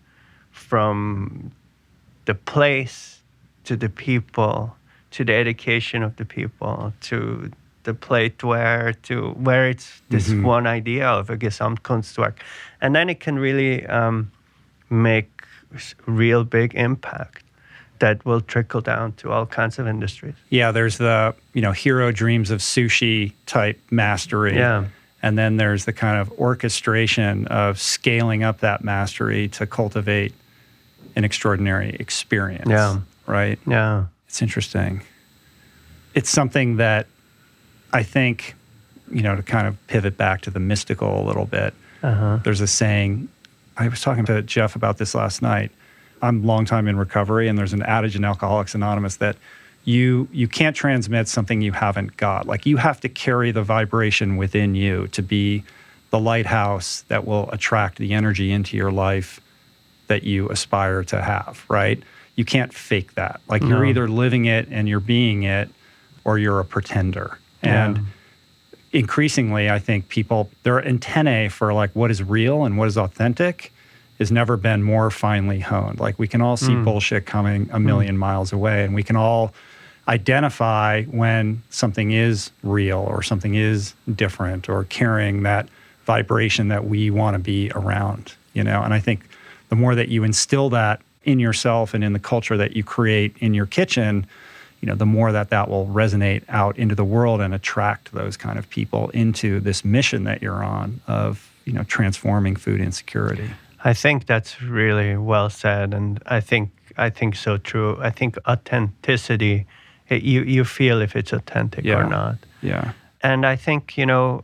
from the place to the people, to the education of the people, to the plateware, to where it's this mm-hmm. one idea of a Gesamtkunstwerk. And then it can really um, make real big impact that will trickle down to all kinds of industries. Yeah, there's the, you know, hero dreams of sushi type mastery. Yeah. And then there's the kind of orchestration of scaling up that mastery to cultivate an extraordinary experience. Yeah. Right? Yeah. It's interesting. It's something that I think, you know, to kind of pivot back to the mystical a little bit, uh-huh. there's a saying, I was talking to Jeff about this last night. I'm a long time in recovery, and there's an adage in Alcoholics Anonymous that you you can't transmit something you haven't got. Like, you have to carry the vibration within you to be the lighthouse that will attract the energy into your life that you aspire to have, right? You can't fake that. Like, no. You're either living it and you're being it, or you're a pretender. And yeah. increasingly, I think people, their antennae for like what is real and what is authentic has never been more finely honed. Like, we can all see mm. bullshit coming a million mm. miles away, and we can all identify when something is real or something is different or carrying that vibration that we want to be around, you know? And I think the more that you instill that in yourself and in the culture that you create in your kitchen, you know, the more that that will resonate out into the world and attract those kind of people into this mission that you're on of, you know, transforming food insecurity. I think that's really well said, and I think I think so true. I think authenticity, it, you you feel if it's authentic yeah. or not. Yeah. And I think, you know,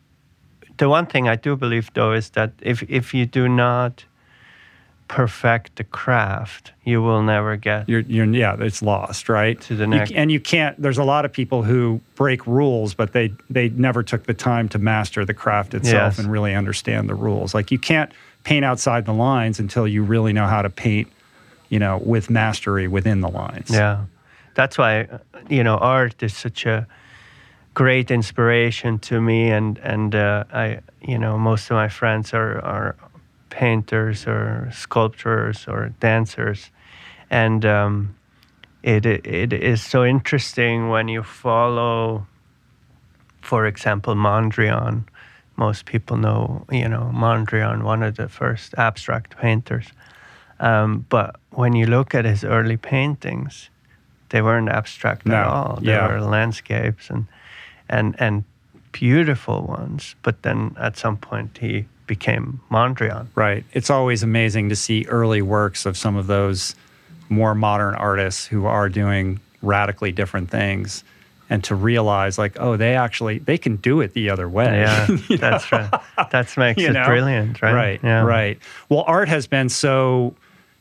the one thing I do believe though is that if if you do not perfect the craft, you will never get. You're, you're yeah, it's lost, right? To the next. You, and you can't. There's a lot of people who break rules, but they they never took the time to master the craft itself yes. and really understand the rules. Like, you can't paint outside the lines until you really know how to paint, you know, with mastery within the lines. Yeah, that's why, you know, art is such a great inspiration to me, and and uh, I, you know, most of my friends are are painters or sculptors or dancers, and um, it it is so interesting when you follow, for example, Mondrian. Most people know, you know, Mondrian, one of the first abstract painters. Um, but when you look at his early paintings, they weren't abstract no. at all. They yeah. were landscapes and and and beautiful ones. But then at some point he became Mondrian. Right. It's always amazing to see early works of some of those more modern artists who are doing radically different things, and to realize, like, oh, they actually, they can do it the other way. Yeah, that's right. That makes you it know? brilliant, right? Right, yeah. right. Well, art has been so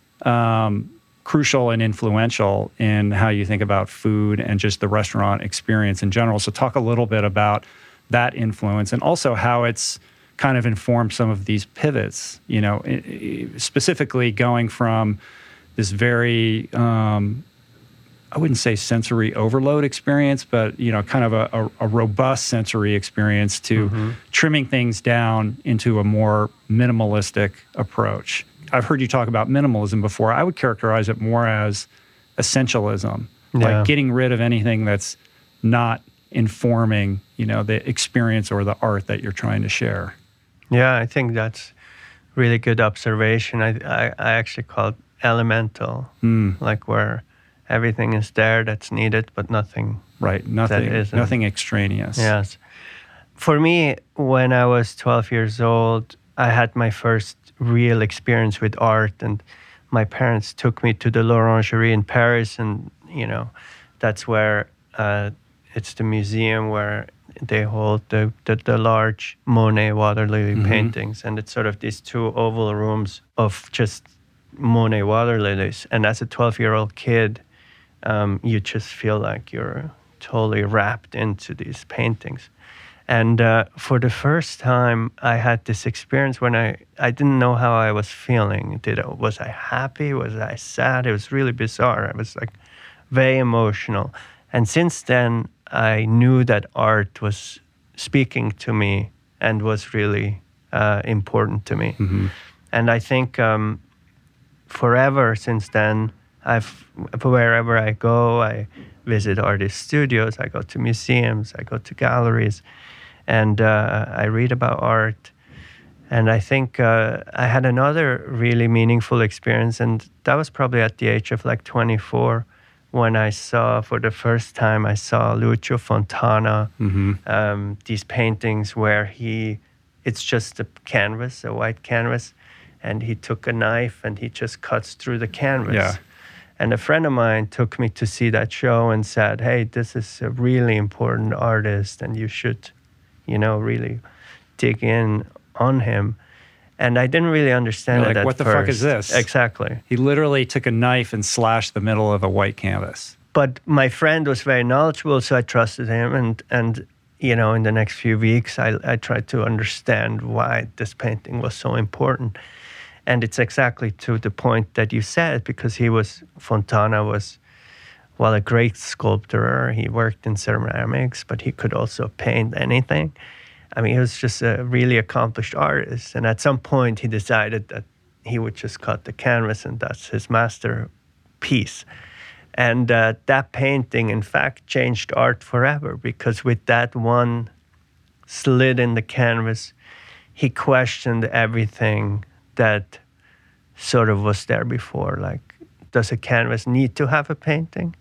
um, crucial and influential in how you think about food and just the restaurant experience in general. So talk a little bit about that influence, and also how it's kind of informed some of these pivots, you know, specifically going from this very, um, I wouldn't say sensory overload experience, but, you know, kind of a, a, a robust sensory experience to mm-hmm. trimming things down into a more minimalistic approach. I've heard you talk about minimalism before. I would characterize it more as essentialism, yeah. like getting rid of anything that's not informing, you know, the experience or the art that you're trying to share. Yeah, I think that's really good observation. I I, I actually call it elemental, mm. like where everything is there that's needed, but nothing. Right, nothing, that isn't. Nothing extraneous. Yes. For me, when I was twelve years old, I had my first real experience with art, and my parents took me to the L'Orangerie in Paris, and, you know, that's where uh, it's the museum where they hold the, the, the large Monet water lily mm-hmm. paintings, and it's sort of these two oval rooms of just Monet water lilies. And as a twelve-year-old kid, um, you just feel like you're totally wrapped into these paintings. And uh, for the first time, I had this experience when I, I didn't know how I was feeling. Did I, was I happy? Was I sad? It was really bizarre. I was like very emotional. And since then, I knew that art was speaking to me and was really uh, important to me. Mm-hmm. And I think um, forever since then, I've wherever I go, I visit artist studios, I go to museums, I go to galleries, and uh, I read about art. And I think uh, I had another really meaningful experience, and that was probably at the age of like twenty-four, when I saw, for the first time, I saw Lucio Fontana, mm-hmm. um, these paintings where he, it's just a canvas, a white canvas, and he took a knife and he just cuts through the canvas. Yeah. And a friend of mine took me to see that show and said, hey, this is a really important artist and you should, you know, really dig in on him. And I didn't really understand You're it like, at what the first. fuck is this? Exactly. He literally took a knife and slashed the middle of a white canvas. But my friend was very knowledgeable, so I trusted him. And, and you know, in the next few weeks, I, I tried to understand why this painting was so important. And it's exactly to the point that you said, because he was, Fontana was, well, a great sculptor. He worked in ceramics, but he could also paint anything. I mean, he was just a really accomplished artist. And at some point, he decided that he would just cut the canvas, and that's his masterpiece. And uh, that painting, in fact, changed art forever, because with that one slit in the canvas, he questioned everything that sort of was there before. Like, does a canvas need to have a painting?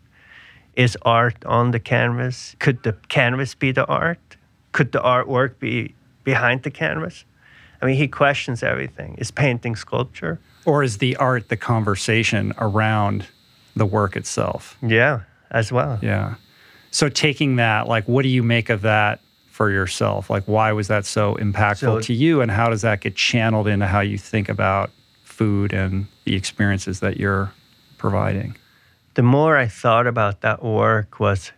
Is art on the canvas? Could the canvas be the art? Could the artwork be behind the canvas? I mean, he questions everything. Is painting sculpture? Or is the art the conversation around the work itself? Yeah, as well. Yeah. So taking that, like, what do you make of that for yourself? Like, why was that so impactful So, to you, and how does that get channeled into how you think about food and the experiences that you're providing? The more I thought about that work was,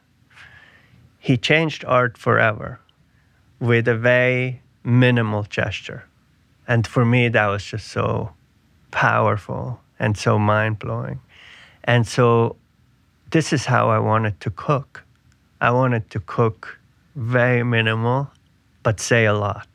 he changed art forever with a very minimal gesture. And for me, that was just so powerful and so mind-blowing. And so this is how I wanted to cook. I wanted to cook very minimal, but say a lot.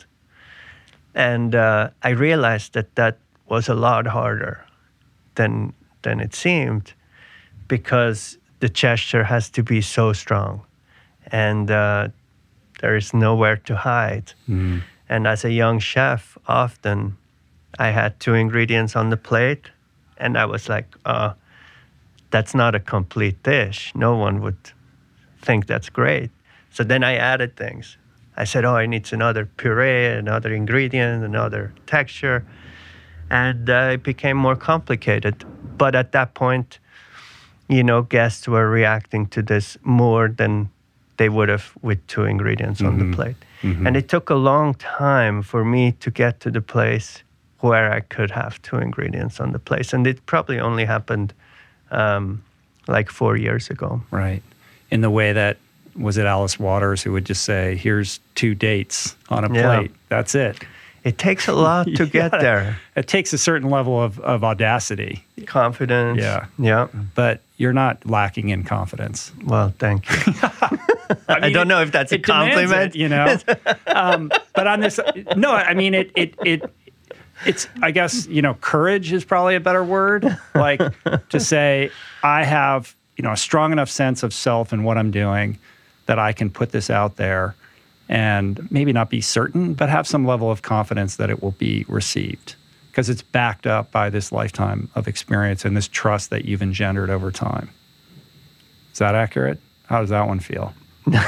And uh, I realized that that was a lot harder than than it seemed, because the gesture has to be so strong, and uh, there is nowhere to hide. Mm. And as a young chef, often I had two ingredients on the plate, and I was like, uh, that's not a complete dish. No one would think that's great. So then I added things. I said, oh, I need another puree, another ingredient, another texture. And uh, it became more complicated. But at that point, you know, guests were reacting to this more than they would have with two ingredients mm-hmm. on the plate. Mm-hmm. And it took a long time for me to get to the place where I could have two ingredients on the plate. And it probably only happened um, like four years ago. Right. In the way that, was it Alice Waters who would just say, here's two dates on a yeah. plate. That's it. It takes a lot to get gotta, there. It takes a certain level of, of audacity. Confidence. Yeah. Yeah. But you're not lacking in confidence. Well, thank you. I, mean, I don't it, know if that's a compliment. It, you know? um, but on this, no, I mean, it, it, it, it's, I guess, you know, courage is probably a better word. Like to say, I have, you know, a strong enough sense of self and what I'm doing that I can put this out there and maybe not be certain, but have some level of confidence that it will be received, because it's backed up by this lifetime of experience and this trust that you've engendered over time. Is that accurate? How does that one feel? No,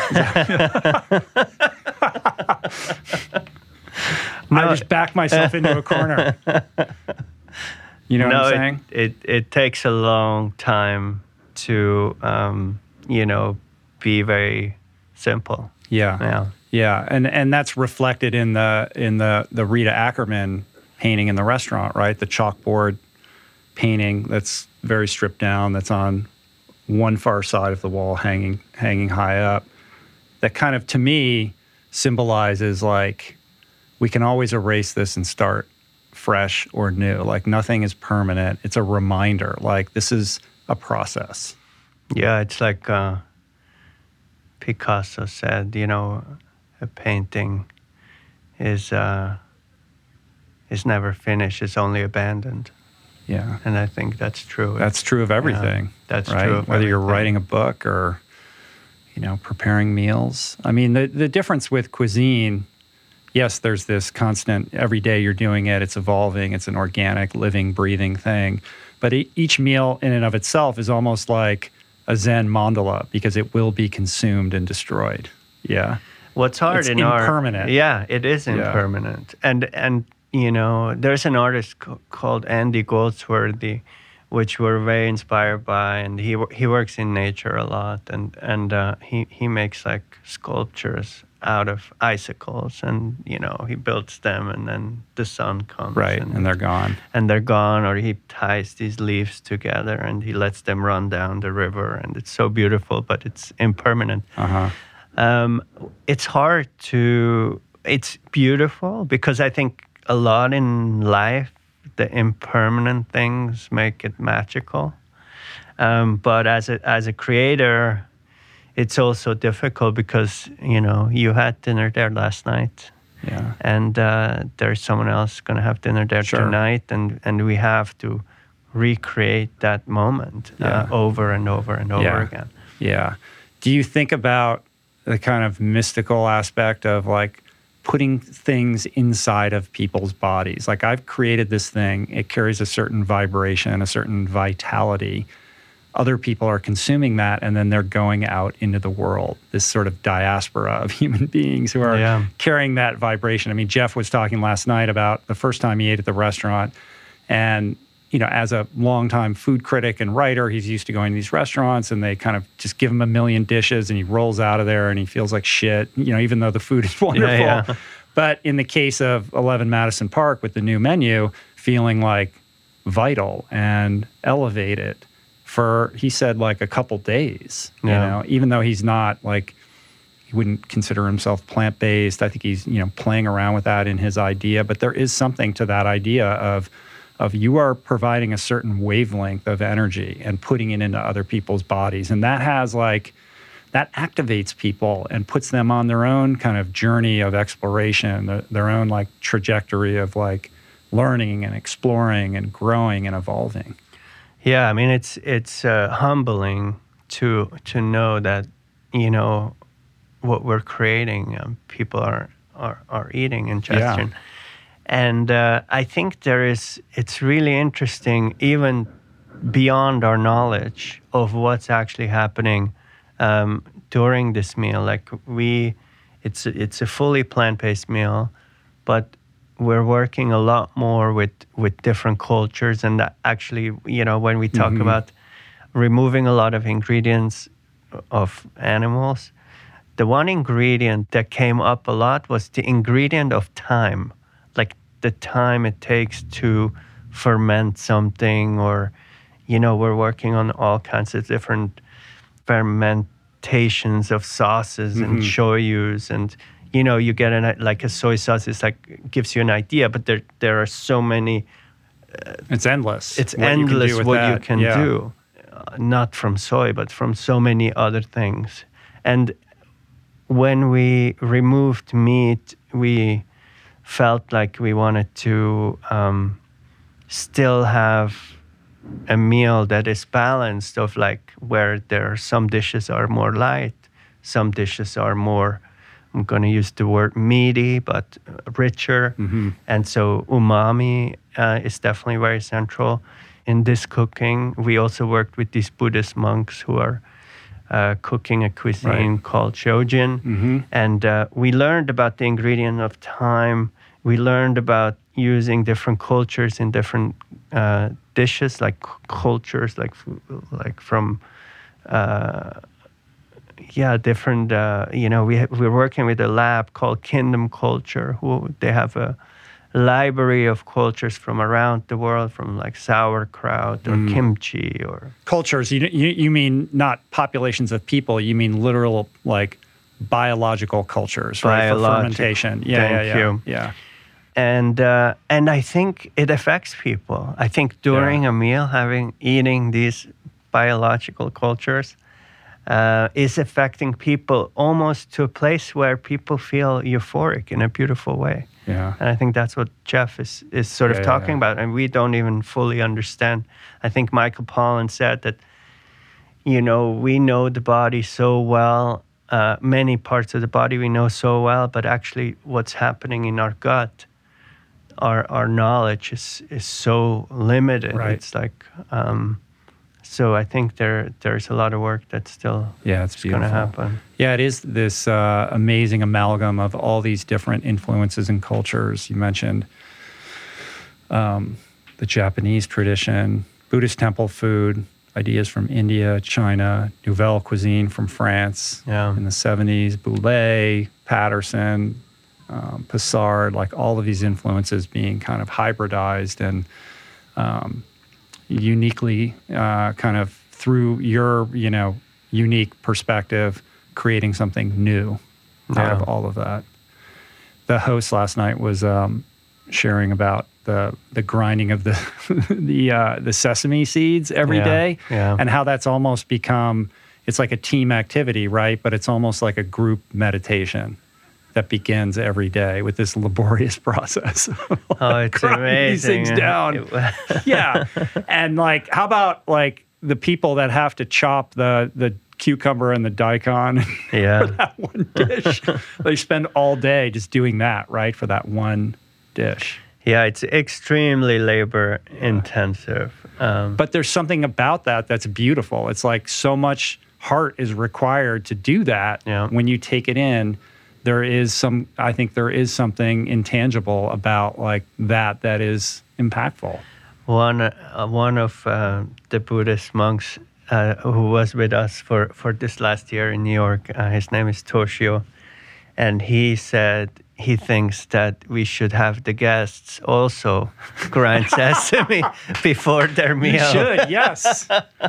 I just backed myself into a corner. You know no, what I'm saying? It, it, it takes a long time to, um, you know, be very simple. Yeah. Yeah. Yeah, and and that's reflected in the in the the Rita Ackerman painting in the restaurant, right? The chalkboard painting that's very stripped down, that's on one far side of the wall, hanging hanging high up. That kind of, to me, symbolizes like we can always erase this and start fresh or new. Like nothing is permanent. It's a reminder. Like this is a process. Yeah, it's like uh, Picasso said, you know, a painting is uh, is never finished, it's only abandoned. Yeah. And I think that's true. That's true of everything. Yeah, that's right? true of Whether you're everything. writing a book or, you know, preparing meals. I mean, the, the difference with cuisine, yes, there's this constant, every day you're doing it, it's evolving, it's an organic, living, breathing thing. But e- each meal in and of itself is almost like a Zen mandala because it will be consumed and destroyed. Yeah. What's hard It's in impermanent. art? Yeah, it is Yeah. impermanent. And and you know, there's an artist co- called Andy Goldsworthy, which we're very inspired by, and he wo- he works in nature a lot, and and uh, he he makes like sculptures out of icicles, and you know he builds them, and then the sun comes, Right. and, And they're gone. and they're gone, or he ties these leaves together and he lets them run down the river, and it's so beautiful, but it's impermanent. Uh-huh. Um, it's hard to, it's beautiful because I think a lot in life, the impermanent things make it magical. Um, but as a, as a creator, it's also difficult because, you know, you had dinner there last night. Yeah. And uh, there's someone else going to have dinner there Sure. tonight, and, and we have to recreate that moment Yeah. uh, over and over and over Yeah. again. Yeah. Do you think about the kind of mystical aspect of like putting things inside of people's bodies? Like I've created this thing, it carries a certain vibration, a certain vitality. Other people are consuming that, and then they're going out into the world, this sort of diaspora of human beings who are Yeah. carrying that vibration. I mean, Jeff was talking last night about the first time he ate at the restaurant, and you know, as a longtime food critic and writer, he's used to going to these restaurants and they kind of just give him a million dishes and he rolls out of there and he feels like shit, you know, even though the food is wonderful. Yeah, yeah. But in the case of eleven Madison Park with the new menu, feeling like vital and elevated for, he said, like a couple days, you Yeah. know, even though he's not like, he wouldn't consider himself plant-based. I think he's, you know, playing around with that in his idea, but there is something to that idea of of you are providing a certain wavelength of energy and putting it into other people's bodies. And that has like, that activates people and puts them on their own kind of journey of exploration, their, their own like trajectory of like learning and exploring and growing and evolving. Yeah, I mean, it's it's uh, humbling to to know that, you know, what we're creating, um, people are, are, are eating ingestion. Yeah. And uh, I think there is, it's really interesting, even beyond our knowledge of what's actually happening um, during this meal. Like we, it's it's a fully plant-based meal, but we're working a lot more with, with different cultures. And that actually, you know, when we talk Mm-hmm. about removing a lot of ingredients of animals, the one ingredient that came up a lot was the ingredient of time. Like the time it takes to ferment something, or, you know, we're working on all kinds of different fermentations of sauces Mm-hmm. and shoyus, and, you know, you get an, like a soy sauce is like, gives you an idea, but there there are so many, It's endless. it's what you can do endless with what that. you can Yeah. do, uh, not from soy, but from so many other things. And when we removed meat, we felt like we wanted to um, still have a meal that is balanced, of like where there are some dishes are more light, some dishes are more, I'm going to use the word meaty, but richer. Mm-hmm. And so umami uh, is definitely very central in this cooking. We also worked with these Buddhist monks who are uh, cooking a cuisine Right. called Shojin. Mm-hmm. And uh, we learned about the ingredient of time. We learned about using different cultures in different uh, dishes, like c- cultures, like f- like from, uh, yeah, different. Uh, you know, we ha- we're working with a lab called Kingdom Culture, who they have a library of cultures from around the world, from like sauerkraut or Mm. kimchi or Cultures, you, you you mean not populations of people, you mean literal like biological cultures, right? For Biological. fermentation. Yeah, Thank yeah, yeah. you. Yeah. and uh, and I think it affects people. I think during Yeah. a meal, having eating these biological cultures uh, is affecting people almost to a place where people feel euphoric in a beautiful way. Yeah. And I think that's what Jeff is, is sort Yeah, of yeah, talking yeah. about. And we don't even fully understand. I think Michael Pollan said that, you know, we know the body so well, uh, many parts of the body we know so well, but actually what's happening in our gut, our our knowledge is, is so limited. Right. It's like, um, so I think there there's a lot of work that's still Yeah, it's going to beautiful. happen. Yeah, it is this uh, amazing amalgam of all these different influences and cultures. You mentioned um, the Japanese tradition, Buddhist temple food, ideas from India, China, Nouvelle cuisine from France Yeah. in the seventies, Boulez, Patterson, um, Passard, like all of these influences being kind of hybridized and um, uniquely uh, kind of through your, you know, unique perspective, creating something new out Yeah. of all of that. The host last night was um, sharing about the the grinding of the the uh, the sesame seeds every Yeah, day, yeah. and how that's almost become, it's like a team activity, right? But it's almost like a group meditation that begins every day with this laborious process. Oh, it's grinding amazing. these things down. It- Yeah. And like, how about like the people that have to chop the the cucumber and the daikon Yeah. for that one dish? They spend all day just doing that, right? For that one dish. Yeah, it's extremely labor intensive. Um, But there's something about that that's beautiful. It's like so much heart is required to do that. Yeah. When you take it in, there is some, I think there is something intangible about like that that is impactful. one uh, one of uh, the Buddhist monks uh, who was with us for, for this last year in New York, uh, his name is Toshio, and he said he thinks that we should have the guests also grind sesame before their meal. You should, yes.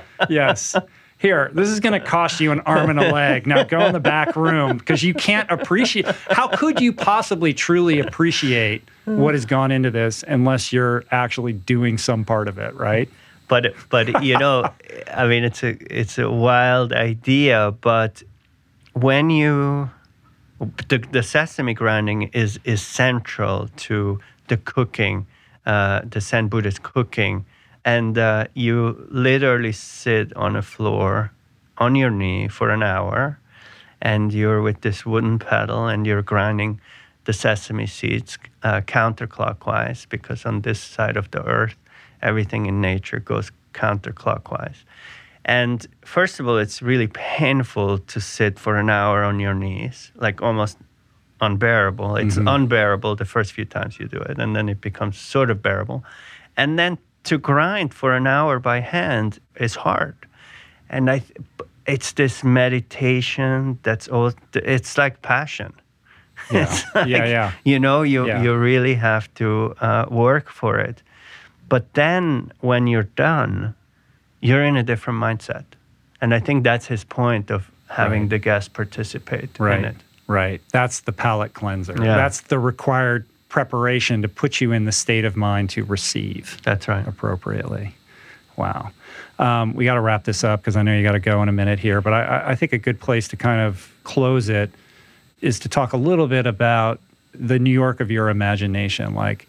Yes. Here, this is going to cost you an arm and a leg. Now go in the back room because you can't appreciate. How could you possibly truly appreciate what has gone into this unless you're actually doing some part of it, right? But but you know, I mean, it's a it's a wild idea. But when you the, the sesame grinding is is central to the cooking, uh, the Zen Buddhist cooking, and uh, you literally sit on a floor, on your knee for an hour, and you're with this wooden pedal, and you're grinding the sesame seeds uh, counterclockwise, because on this side of the earth, everything in nature goes counterclockwise. And first of all, it's really painful to sit for an hour on your knees, like almost unbearable. It's Mhm. unbearable the first few times you do it, and then it becomes sort of bearable. And then to grind for an hour by hand is hard. And I, th- it's this meditation that's all, it's like passion. Yeah. It's like, Yeah, yeah. You know, you, Yeah. you really have to uh, work for it. But then when you're done, you're in a different mindset. And I think that's his point of having Right. the guests participate Right. in it. Right. That's the palate cleanser. Yeah. That's the required preparation to put you in the state of mind to receive That's right. appropriately. Wow. Um, we got to wrap this up because I know you got to go in a minute here, but I, I think a good place to kind of close it is to talk a little bit about the New York of your imagination. Like,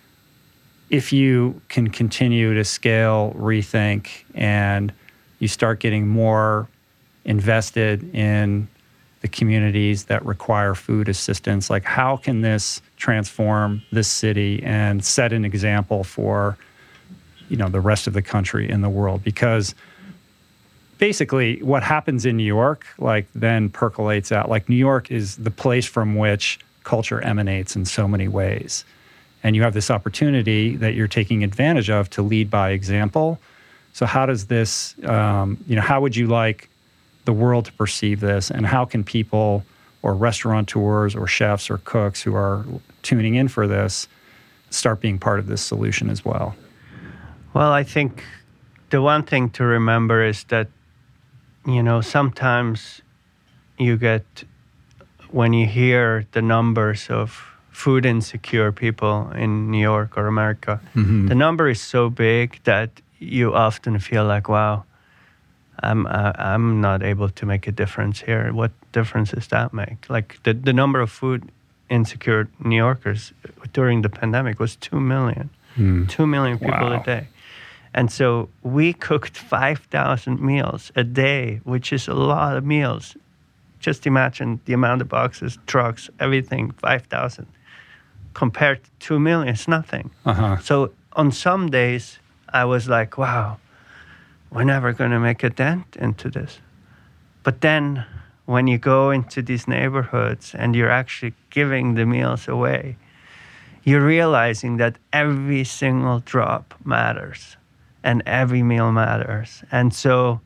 if you can continue to scale, rethink, and you start getting more invested in the communities that require food assistance, like how can this transform this city and set an example for, you know, the rest of the country and the world? Because basically what happens in New York, like then percolates out. Like New York is the place from which culture emanates in so many ways. And you have this opportunity that you're taking advantage of to lead by example. So how does this, um, you know, how would you like the world to perceive this? And how can people or restaurateurs or chefs or cooks who are tuning in for this start being part of this solution as well? Well, I think the one thing to remember is that, you know, sometimes you get, when you hear the numbers of food insecure people in New York or America, Mm-hmm. the number is so big that you often feel like, wow, I'm uh, I'm not able to make a difference here. What difference does that make? Like the, the number of food insecure New Yorkers during the pandemic was two million. Mm. two million people Wow. a day. And so we cooked five thousand meals a day, which is a lot of meals. Just imagine the amount of boxes, trucks, everything, five thousand. Compared to two million, it's nothing. Uh-huh. So on some days, I was like, wow, we're never going to make a dent into this. But then when you go into these neighborhoods and you're actually giving the meals away, you're realizing that every single drop matters and every meal matters. And so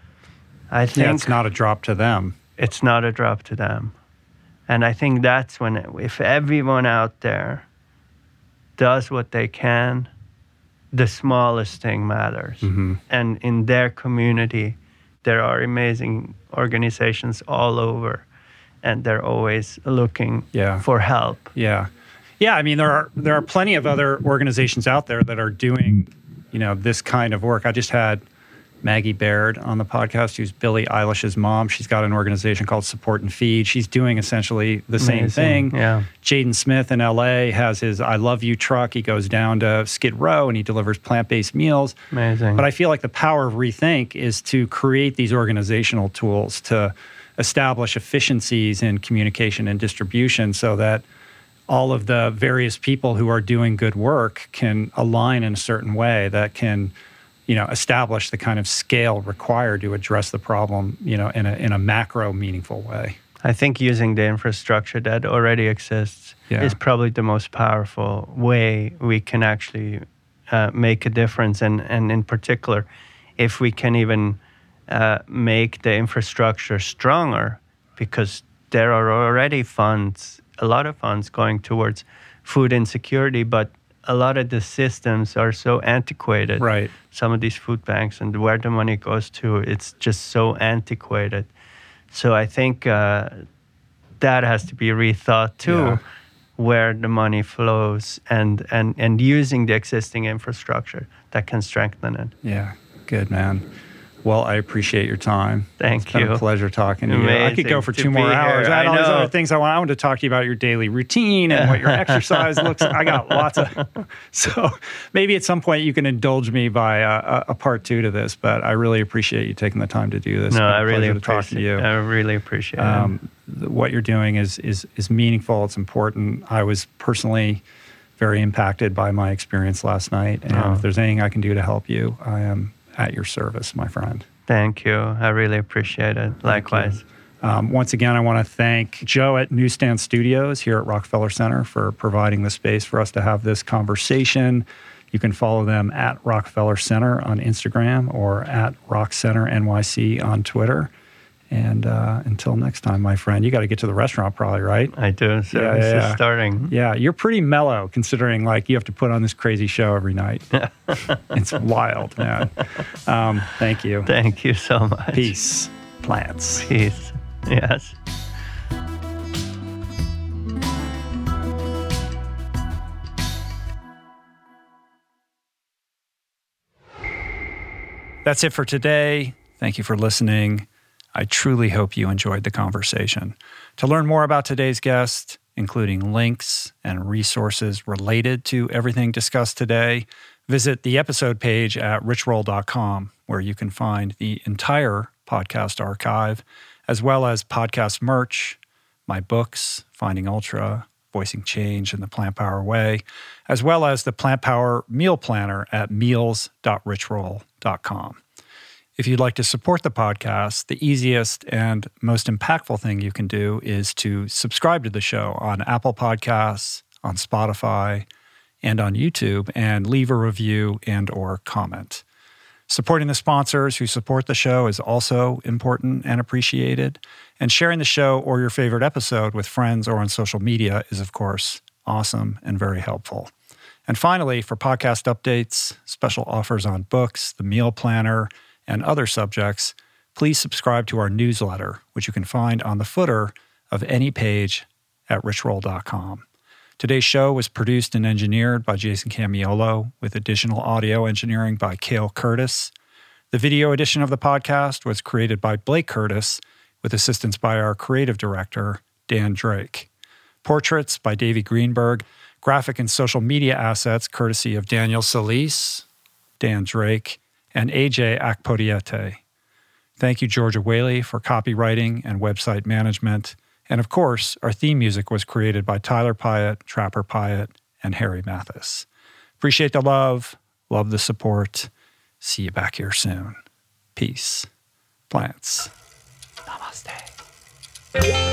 I think Yeah, it's not a drop to them. it's not a drop to them. And I think that's when, if everyone out there does what they can, the smallest thing matters. Mm-hmm. And in their community, there are amazing organizations all over, and they're always looking Yeah. for help. Yeah. Yeah, I mean, there are there are plenty of other organizations out there that are doing, you know, this kind of work. I just had Maggie Baird on the podcast, who's Billie Eilish's mom. She's got an organization called Support and Feed. She's doing essentially the same Amazing. thing. Yeah. Jaden Smith in L A has his I Love You truck. He goes down to Skid Row and he delivers plant-based meals. Amazing. But I feel like the power of Rethink is to create these organizational tools to establish efficiencies in communication and distribution so that all of the various people who are doing good work can align in a certain way that can, you know, establish the kind of scale required to address the problem, you know, in a in a macro meaningful way. I think using the infrastructure that already exists Yeah. is probably the most powerful way we can actually uh, make a difference. And, and in particular, if we can even uh, make the infrastructure stronger, because there are already funds, a lot of funds going towards food insecurity, but a lot of the systems are so antiquated. Right. Some of these food banks and where the money goes to, it's just so antiquated. So I think uh, that has to be rethought too, Yeah. where the money flows and, and, and using the existing infrastructure that can strengthen it. Yeah. Good, man. Well, I appreciate your time. Thank It's been you. a pleasure talking to you. I could go Amazing for to two be more hours. here. I had I all these know. other things I want. I wanted to talk to you about your daily routine and what your exercise looks like. I got lots of. So maybe at some point you can indulge me by a, a part two to this, but I really appreciate you taking the time to do this. It's No, been a I really pleasure to talk to appreciate you. I really appreciate Um, it. th- what you're doing is is is meaningful. It's important. I was personally very impacted by my experience last night, and Oh. if there's anything I can do to help you, I am at your service, my friend. Thank you. I really appreciate it. Likewise. Um, once again, I want to thank Joe at Newsstand Studios here at Rockefeller Center for providing the space for us to have this conversation. You can follow them at Rockefeller Center on Instagram or at Rock Center N Y C on Twitter. And uh, until next time, my friend, you got to get to the restaurant probably, right? I do. So Yeah, this yeah, is yeah. starting. Yeah, you're pretty mellow considering like you have to put on this crazy show every night. It's wild, man. Um, thank you. Thank you so much. Peace. Plants. Peace. Yes. That's it for today. Thank you for listening. I truly hope you enjoyed the conversation. To learn more about today's guest, including links and resources related to everything discussed today, visit the episode page at rich roll dot com, where you can find the entire podcast archive, as well as podcast merch, my books, Finding Ultra, Voicing Change in the Plant Power Way, as well as the Plant Power Meal Planner at meals dot rich roll dot com. If you'd like to support the podcast, the easiest and most impactful thing you can do is to subscribe to the show on Apple Podcasts, on Spotify, and on YouTube, and leave a review and or comment. Supporting the sponsors who support the show is also important and appreciated. And sharing the show or your favorite episode with friends or on social media is, of course, awesome and very helpful. And finally, for podcast updates, special offers on books, the meal planner, and other subjects, please subscribe to our newsletter, which you can find on the footer of any page at rich roll dot com. Today's show was produced and engineered by Jason Camiolo, with additional audio engineering by Cale Curtis. The video edition of the podcast was created by Blake Curtis, with assistance by our creative director, Dan Drake. Portraits by Davey Greenberg. Graphic and social media assets courtesy of Daniel Solis, Dan Drake, and A J Akpodiete. Thank you, Georgia Whaley, for copywriting and website management. And of course, our theme music was created by Tyler Pyatt, Trapper Pyatt, and Harry Mathis. Appreciate the love, love the support. See you back here soon. Peace. Plants. Namaste.